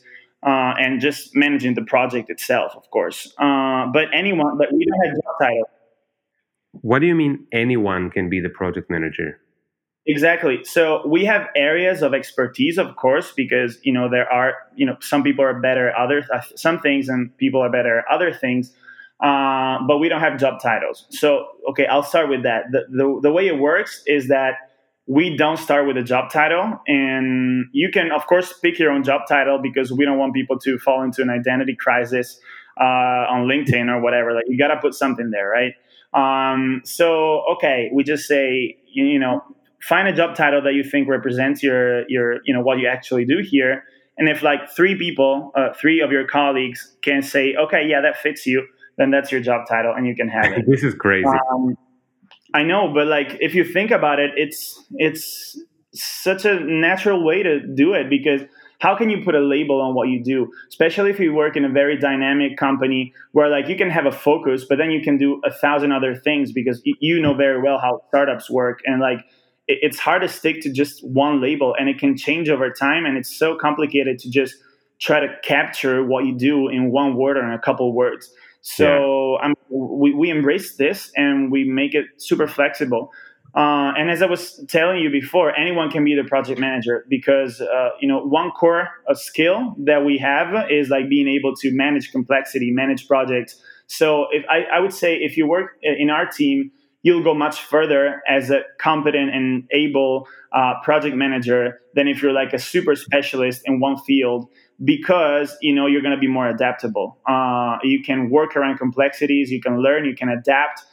uh, and just managing the project itself, of course. Uh, but anyone, but we don't have job title. What do you mean anyone can be the project manager? Exactly. So we have areas of expertise, of course, because you know there are you know some people are better at other uh, some things, and people are better at other things. Uh, but we don't have job titles. So okay, I'll start with that. The, the the way it works is that we don't start with a job title, and you can of course pick your own job title because we don't want people to fall into an identity crisis uh, on LinkedIn or whatever. Like you got to put something there, right? Um, so okay, we just say you, you know. Find a job title that you think represents your your you know what you actually do here, and if like three people uh, three of your colleagues can say okay, yeah, that fits you, then that's your job title and you can have it. This is crazy. um, I know, but like if you think about it, it's it's such a natural way to do it, because how can you put a label on what you do, especially if you work in a very dynamic company where like you can have a focus, but then you can do a thousand other things, because y- you know very well how startups work, and like it's hard to stick to just one label, and it can change over time, and it's so complicated to just try to capture what you do in one word or in a couple words. So yeah. um, we, we embrace this and we make it super flexible. Uh, and as I was telling you before, anyone can be the project manager, because uh, you know one core uh, skill that we have is like being able to manage complexity, manage projects. So if I, I would say if you work in our team, you'll go much further as a competent and able uh, project manager than if you're like a super specialist in one field, because you know you're going to be more adaptable. Uh, you can work around complexities, you can learn, you can adapt,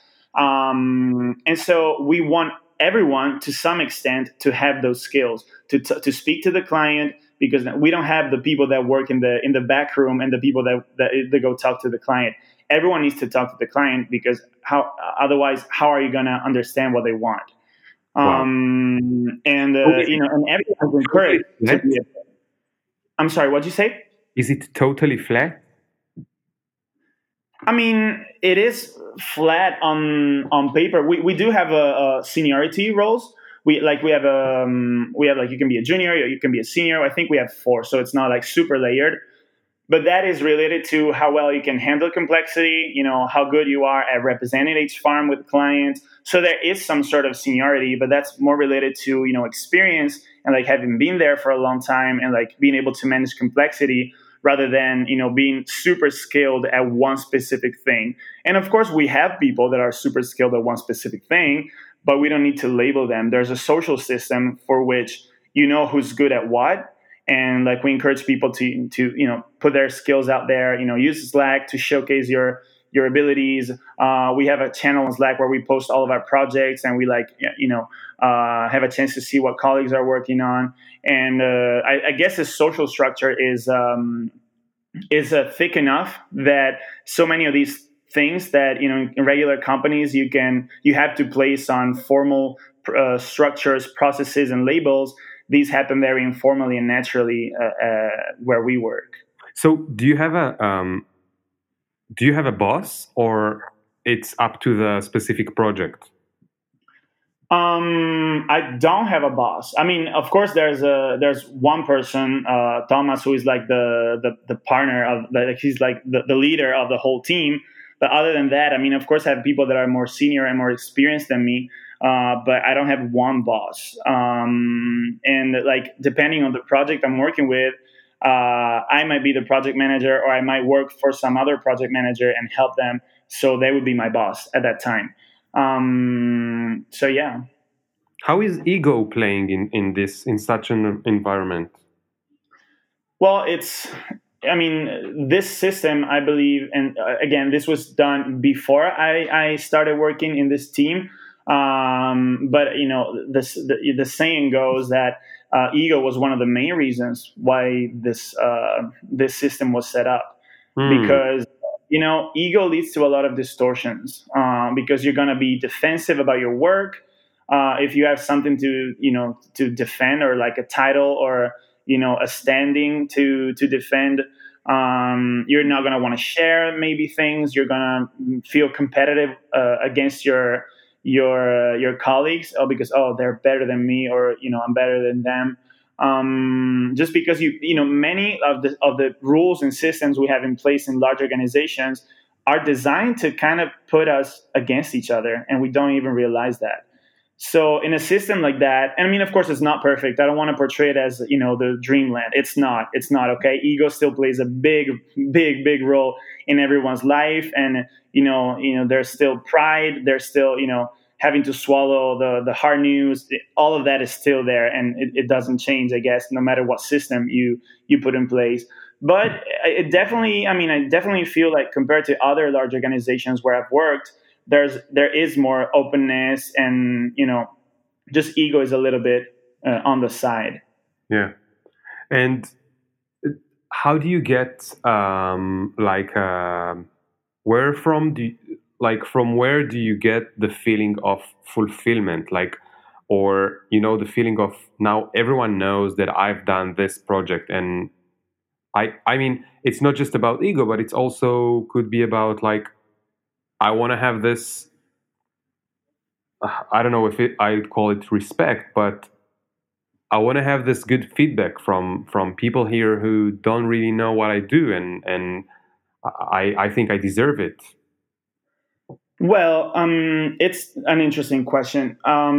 um, and so we want everyone to some extent to have those skills to t- to speak to the client, because we don't have the people that work in the in the back room and the people that that, that go talk to the client. Everyone needs to talk to the client, because how otherwise how are you going to understand what they want? Wow. Um, and uh, Okay. you know, and everyone's encouraged to be. A, I'm sorry, what'd you say? Is it totally flat? I mean, it is flat on on paper. We we do have a, a seniority roles. We like we have um we have like you can be a junior or you can be a senior. I think we have four, so it's not like super layered. But that is related to how well you can handle complexity, you know, how good you are at representing each farm with clients. So there is some sort of seniority, but that's more related to, you know, experience and like having been there for a long time and like being able to manage complexity, rather than, you know, being super skilled at one specific thing. And of course, we have people that are super skilled at one specific thing, but we don't need to label them. There's a social system for which you know who's good at what. And like we encourage people to to you know put their skills out there. You know, use Slack to showcase your your abilities. Uh, we have a channel on Slack where we post all of our projects, and we like you know uh, have a chance to see what colleagues are working on. And uh, I, I guess the social structure is um, is uh, thick enough that so many of these things that you know in regular companies you can you have to place on formal uh, structures, processes, and labels. These happen very informally and naturally uh, uh, where we work. So, do you have a um, do you have a boss, or it's up to the specific project? Um, I don't have a boss. I mean, of course, there's a there's one person, uh, Thomas, who is like the the, the partner of like he's like the, the leader of the whole team. But other than that, I mean, of course, I have people that are more senior and more experienced than me. Uh, but I don't have one boss. Um, and like depending on the project I'm working with, uh, I might be the project manager, or I might work for some other project manager and help them. So they would be my boss at that time. Um, so yeah. How is ego playing in, in this in such an environment? Well, it's I mean, this system, I believe, and uh, again, this was done before I, I started working in this team. Um, but you know, this, the the saying goes that uh, ego was one of the main reasons why this uh, this system was set up, Hmm. because you know, ego leads to a lot of distortions. Um, because you're going to be defensive about your work. Uh, if you have something to you know to defend, or like a title, or you know a standing to to defend, um, you're not going to want to share maybe things. You're going to feel competitive uh, against your your uh, your colleagues, oh, because oh they're better than me, or you know I'm better than them. Um, just because you you know many of the of the rules and systems we have in place in large organizations are designed to kind of put us against each other, and we don't even realize that. So in a system like that, and I mean, of course, it's not perfect. I don't want to portray it as, you know, the dreamland. It's not. It's not, okay? Ego still plays a big, big, big role in everyone's life, and you know, you know, there's still pride. There's still, you know, having to swallow the the hard news. All of that is still there, and it, it doesn't change, I guess, no matter what system you you put in place. But it definitely, I mean, I definitely feel like compared to other large organizations where I've worked, there's there is more openness, and you know, just ego is a little bit uh, on the side. Yeah. And how do you get um, like uh, where from do you, like from where do you get the feeling of fulfillment, like, or you know, the feeling of now everyone knows that I've done this project, and I I mean, it's not just about ego, but it's also could be about like I want to have this. Uh, I don't know if it, I'd call it respect, but I want to have this good feedback from from people here who don't really know what I do, and and I I think I deserve it. Well, um, it's an interesting question.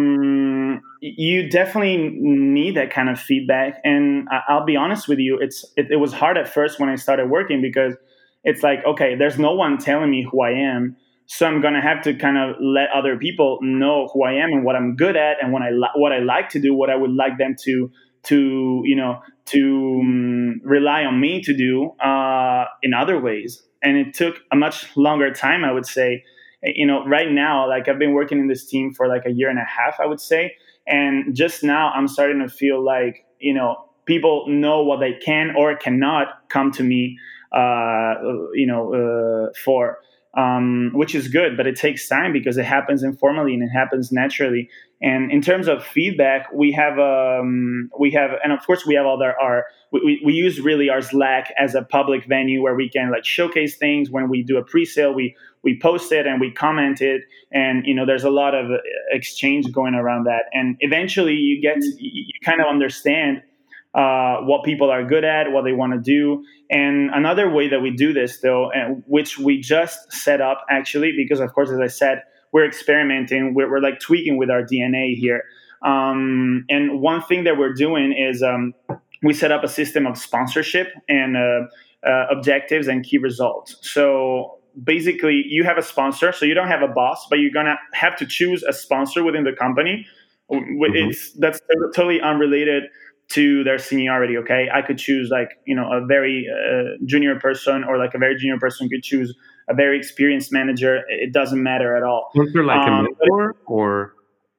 Um, you definitely need that kind of feedback, and I- I'll be honest with you. It's it, it was hard at first when I started working, because it's like, okay, there's no one telling me who I am, so I'm gonna have to kind of let other people know who I am and what I'm good at, and what I li- what I like to do, what I would like them to to you know to um, rely on me to do uh, in other ways. And it took a much longer time, I would say. You know, right now, like I've been working in this team for like a year and a half, I would say. And just now I'm starting to feel like, you know, people know what they can or cannot come to me, uh, you know, uh, for, um, which is good, but it takes time because it happens informally and it happens naturally. And in terms of feedback, we have, um, we have, and of course we have all our, our we, we use really our Slack as a public venue where we can like showcase things. When we do a pre-sale, we we post it and we comment it, and you know there's a lot of exchange going around that, and eventually you get you kind of understand uh, what people are good at, what they want to do. And another way that we do this, though, and which we just set up actually, because of course, as I said, we're experimenting, we're, we're like tweaking with our D N A here. Um, and one thing that we're doing is um, we set up a system of sponsorship and uh, uh, objectives and key results. So basically, you have a sponsor, so you don't have a boss, but you're gonna have to choose a sponsor within the company. It's mm-hmm. That's totally unrelated to their seniority. Okay, I could choose like you know a very uh, junior person, or like a very junior person could choose a very experienced manager. It doesn't matter at all. Was there like um, a mentor, or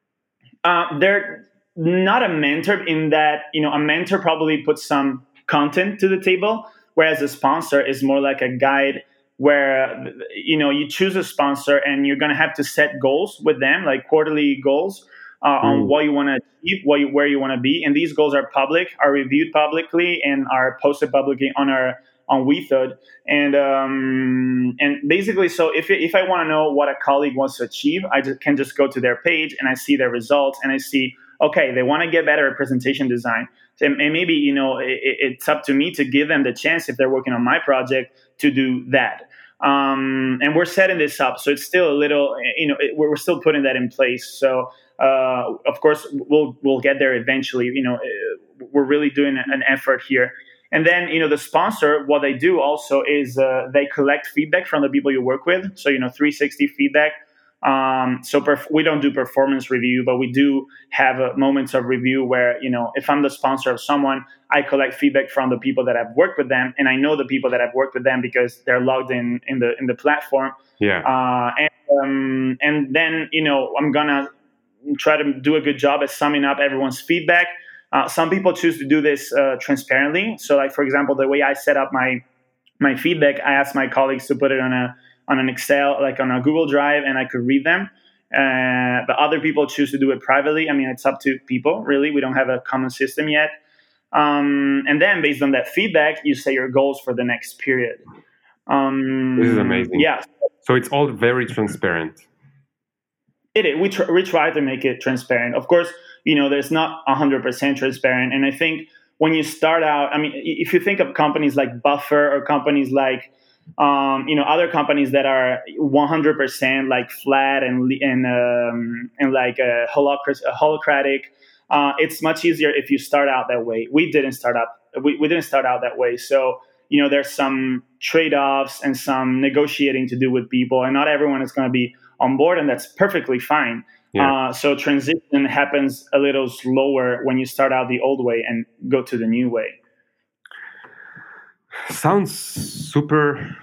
uh, they're not a mentor in that you know a mentor probably puts some content to the table, whereas a sponsor is more like a guide, where you know you choose a sponsor and you're going to have to set goals with them, like quarterly goals uh, mm. on what you want to achieve, what you, where you want to be. And these goals are public, are reviewed publicly, and are posted publicly on our on WeThud. And um, and basically, so if if I want to know what a colleague wants to achieve, I just, can just go to their page and I see their results, and I see, okay, they want to get better at presentation design. And maybe, you know, it, it's up to me to give them the chance, if they're working on my project, to do that. Um, and we're setting this up, so it's still a little, you know, it, we're still putting that in place. So, uh, of course, we'll we'll get there eventually. You know, we're really doing an effort here. And then, you know, the sponsor, what they do also is uh, they collect feedback from the people you work with. So, you know, three sixty feedback. Um, so perf- we don't do performance review, but we do have uh, moments of review where, you know, if I'm the sponsor of someone, I collect feedback from the people that have worked with them, and I know the people that have worked with them because they're logged in in the in the platform. Yeah. Uh, and um, and then, you know, I'm gonna try to do a good job at summing up everyone's feedback. Uh, some people choose to do this uh, transparently. So, like for example, the way I set up my my feedback, I asked my colleagues to put it on a on an Excel, like on a Google Drive, and I could read them. Uh, but other people choose to do it privately. I mean, it's up to people, really. We don't have a common system yet. Um, and then based on that feedback, you set your goals for the next period. Um, this is amazing. Yeah. So it's all very transparent. It is. We, tr- we try to make it transparent. Of course, you know, there's not one hundred percent transparent. And I think when you start out, I mean, if you think of companies like Buffer or companies like, um, you know, other companies that are one hundred percent like flat and and um, and like a, holocratic, a holocratic, uh, it's much easier if you start out that way. We didn't start out. We, we didn't start out that way. So, you know, there's some trade-offs and some negotiating to do with people, and not everyone is going to be on board, and that's perfectly fine. Yeah. Uh, so transition happens a little slower when you start out the old way and go to the new way. Sounds super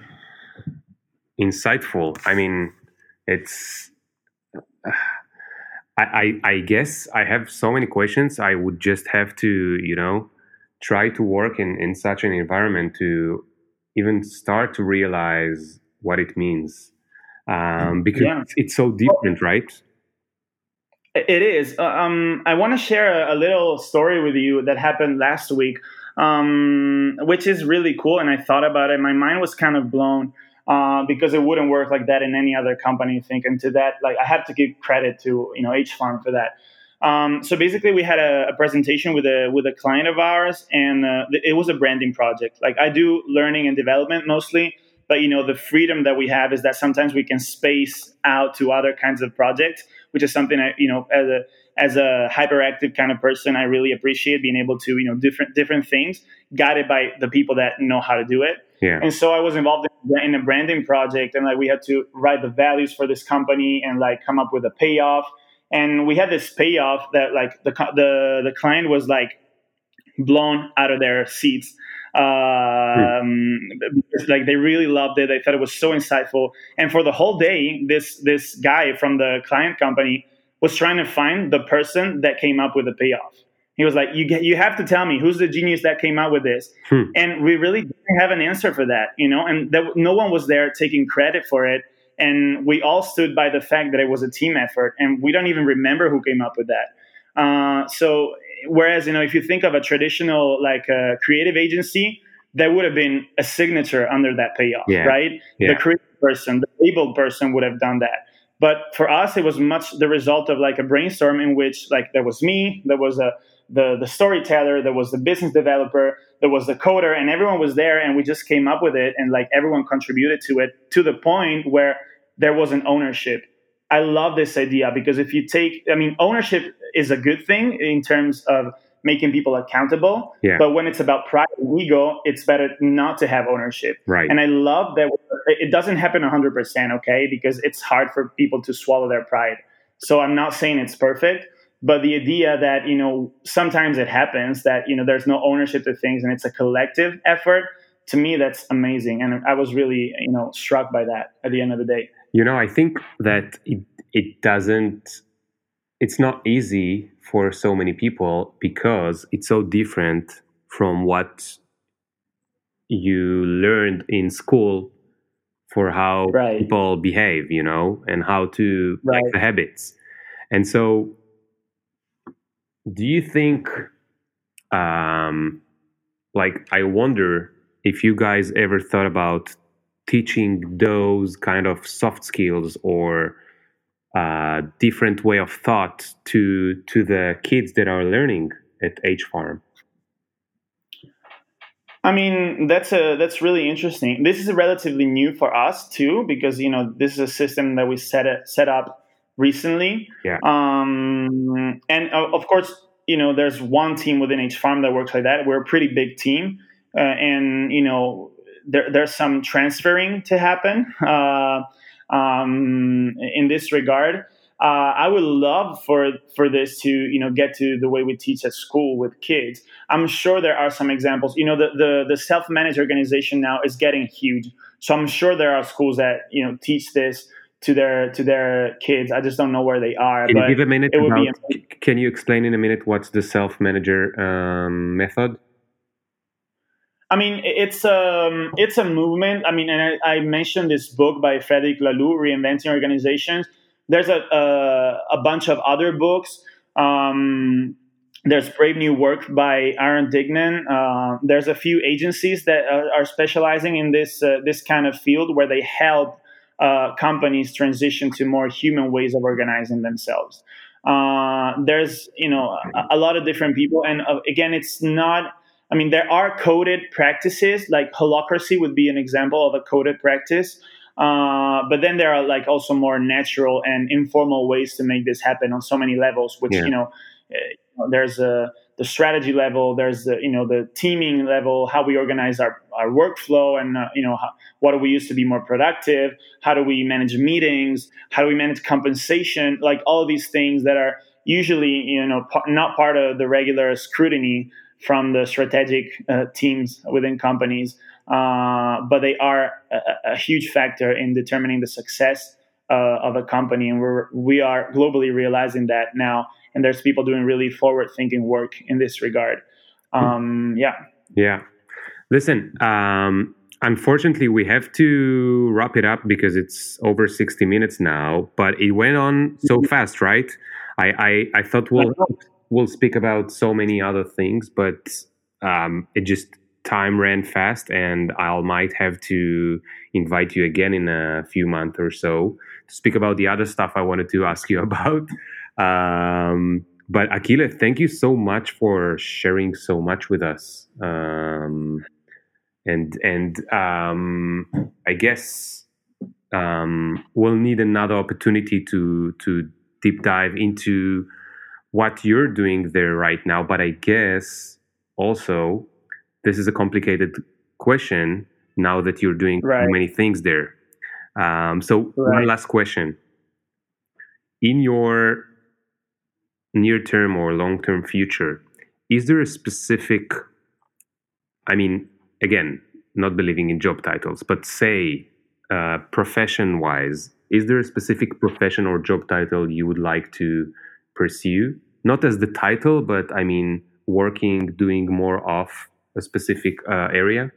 insightful. I mean, it's. Uh, I, I I guess I have so many questions. I would just have to, you know, try to work in, in such an environment to even start to realize what it means, um, because yeah. it's, it's so different, right? It is. Uh, um, I want to share a, a little story with you that happened last week, um, which is really cool. And I thought about it. My mind was kind of blown uh, because it wouldn't work like that in any other company, I think. And to that, like, I have to give credit to, you know, H Farm for that. Um, so basically, we had a, a presentation with a with a client of ours, and uh, it was a branding project. Like, I do learning and development mostly, but, you know, the freedom that we have is that sometimes we can space out to other kinds of projects, which is something I, you know, as a as a hyperactive kind of person, I really appreciate being able to, you know, different different things guided by the people that know how to do it. Yeah. And so I was involved in, in a branding project, and like we had to write the values for this company and like come up with a payoff. And we had this payoff that like the the the client was like blown out of their seats. Um, because, like, they really loved it. They thought it was so insightful. And for the whole day, this this guy from the client company was trying to find the person that came up with the payoff. He was like, "You get, you have to tell me who's the genius that came up with this." Hmm. And we really didn't have an answer for that, you know. And that, no one was there taking credit for it. And we all stood by the fact that it was a team effort, and we don't even remember who came up with that. Uh, so, whereas, you know, if you think of a traditional like uh, creative agency, there would have been a signature under that payoff, yeah. right? Yeah. The creative person, the labeled person would have done that. But for us, it was much the result of like a brainstorm in which like there was me, there was a the the storyteller, there was the business developer, there was the coder, and everyone was there, and we just came up with it, and like everyone contributed to it to the point where there was an ownership. I love this idea because if you take, I mean, ownership is a good thing in terms of making people accountable. Yeah. But when it's about pride and ego, it's better not to have ownership. Right. And I love that it doesn't happen one hundred percent, okay? Because it's hard for people to swallow their pride. So I'm not saying it's perfect, but the idea that, you know, sometimes it happens that, you know, there's no ownership to things and it's a collective effort. To me, that's amazing. And I was really, you know, struck by that at the end of the day. You know, I think that it, it doesn't, it's not easy for so many people because it's so different from what you learned in school for how right. people behave, you know, and how to right. like the habits. And so do you think, um, like, I wonder if you guys ever thought about teaching those kind of soft skills or uh, different way of thought to to the kids that are learning at H Farm? I mean, that's a that's really interesting. This is relatively new for us too, because, you know, this is a system that we set it, set up recently. Yeah. Um, and uh, of course, you know, there's one team within H Farm that works like that. We're a pretty big team, uh, and you know, there there's some transferring to happen uh, um, in this regard. Uh, I would love for for this to, you know, get to the way we teach at school with kids. I'm sure there are some examples. You know, the the, the self-managed organization now is getting huge, so I'm sure there are schools that, you know, teach this to their to their kids. I just don't know where they are. Can but you give a minute? It would about, be can you explain in a minute what's the self-manager um, method? I mean, it's um it's a movement. I mean, and I, I mentioned this book by Frederic Laloux, Reinventing Organizations. There's a, a, a bunch of other books. Um, there's Brave New Work by Aaron Dignan. Uh, there's a few agencies that are, are specializing in this uh, this kind of field where they help uh, companies transition to more human ways of organizing themselves. Uh, there's you know a, a lot of different people, and uh, again, it's not. I mean, there are coded practices, like holacracy would be an example of a coded practice. Uh, but then there are like also more natural and informal ways to make this happen on so many levels, which, Yeah. you know, uh, there's a, the strategy level, there's the, you know, the teaming level, how we organize our, our workflow and, uh, you know, how, what do we use to be more productive? How do we manage meetings? How do we manage compensation? Like all these things that are usually, you know, p- not part of the regular scrutiny from the strategic uh, teams within companies. Uh, but they are a, a huge factor in determining the success uh, of a company, and we're we are globally realizing that now. And there's people doing really forward-thinking work in this regard. Um, yeah. Yeah. Listen, um, unfortunately, we have to wrap it up because it's over sixty minutes now. But it went on so fast, right? I I, I thought we'll we'll speak about so many other things, but um, it just time ran fast, and I might have to invite you again in a few months or so to speak about the other stuff I wanted to ask you about. Um, but Akile, thank you so much for sharing so much with us. Um, and and um, I guess um, we'll need another opportunity to to deep dive into what you're doing there right now. But I guess also this is a complicated question now that you're doing Right. so many things there. Um, so Right. one last question. In your near-term or long-term future, is there a specific, I mean, again, not believing in job titles, but say uh, profession-wise, is there a specific profession or job title you would like to pursue? Not as the title, but I mean, working, doing more of a specific uh, area?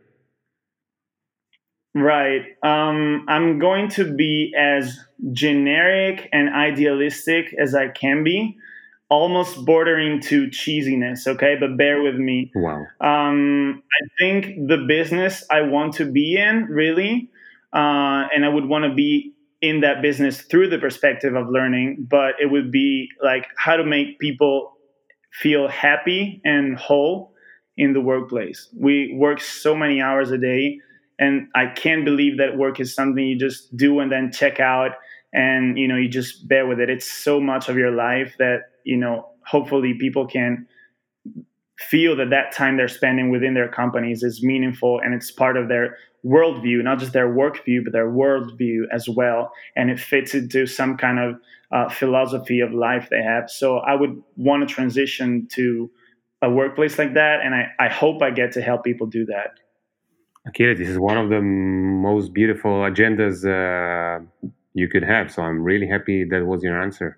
Right. Um, I'm going to be as generic and idealistic as I can be, almost bordering to cheesiness, okay? But bear with me. Wow. Um, I think the business I want to be in, really, uh, and I would want to be in that business through the perspective of learning, but it would be like how to make people feel happy and whole in the workplace. We work so many hours a day, and I can't believe that work is something you just do and then check out, and you know you just bear with it. It's so much of your life that you know hopefully people can feel that that time they're spending within their companies is meaningful and it's part of their worldview, not just their work view, but their worldview as well. And it fits into some kind of uh, philosophy of life they have. So I would want to transition to a workplace like that. And I, I hope I get to help people do that. Akira, this is one of the most beautiful agendas uh, you could have. So I'm really happy that was your answer.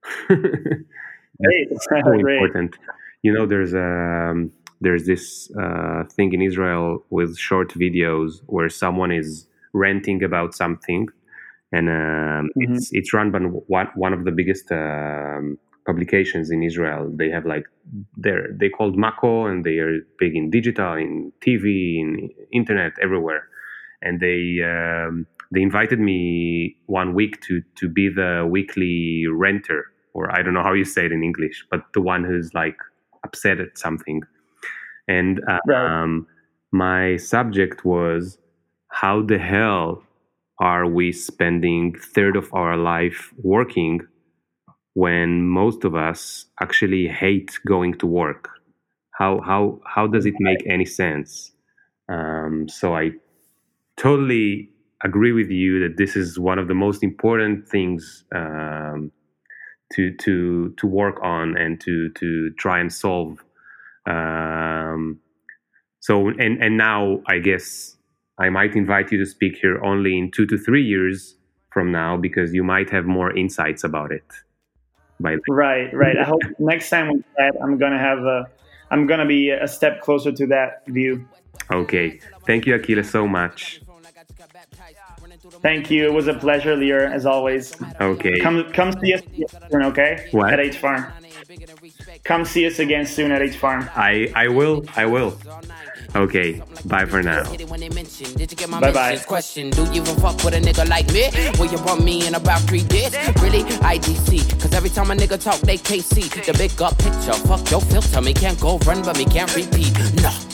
Great. So Great. important. You know, there's um, there's this uh, thing in Israel with short videos where someone is ranting about something, and um, Mm-hmm. it's it's run by one one of the biggest um, publications in Israel. They have like they're they called Mako, and they are big in digital, in T V, in internet, everywhere. And they um, they invited me one week to to be the weekly renter, or I don't know how you say it in English, but the one who's like upset at something. And uh, Right. um, my subject was how the hell are we spending third of our life working when most of us actually hate going to work? How how how does it make any sense? Um, so I totally agree with you that this is one of the most important things um, to to to work on and to to try and solve. Um, so and and now I guess I might invite you to speak here only in two to three years from now because you might have more insights about it. By then. Right. Right. I hope next time we chat, I'm gonna have a, I'm gonna be a step closer to that view. Okay, thank you, Akila, so much. Thank you. It was a pleasure, Lear, as always. Okay. Come come see us soon, okay? What? At H Farm. Come see us again soon at H Farm. I, I will. I will. Okay. Bye for now. Bye bye. Question: do you even fuck with a nigga like me? Will you want me in about three days? Really? I D C. Cause every time a nigga talk, they can't see the big up picture. Fuck your filter. Me can't go run, but me can't repeat. No.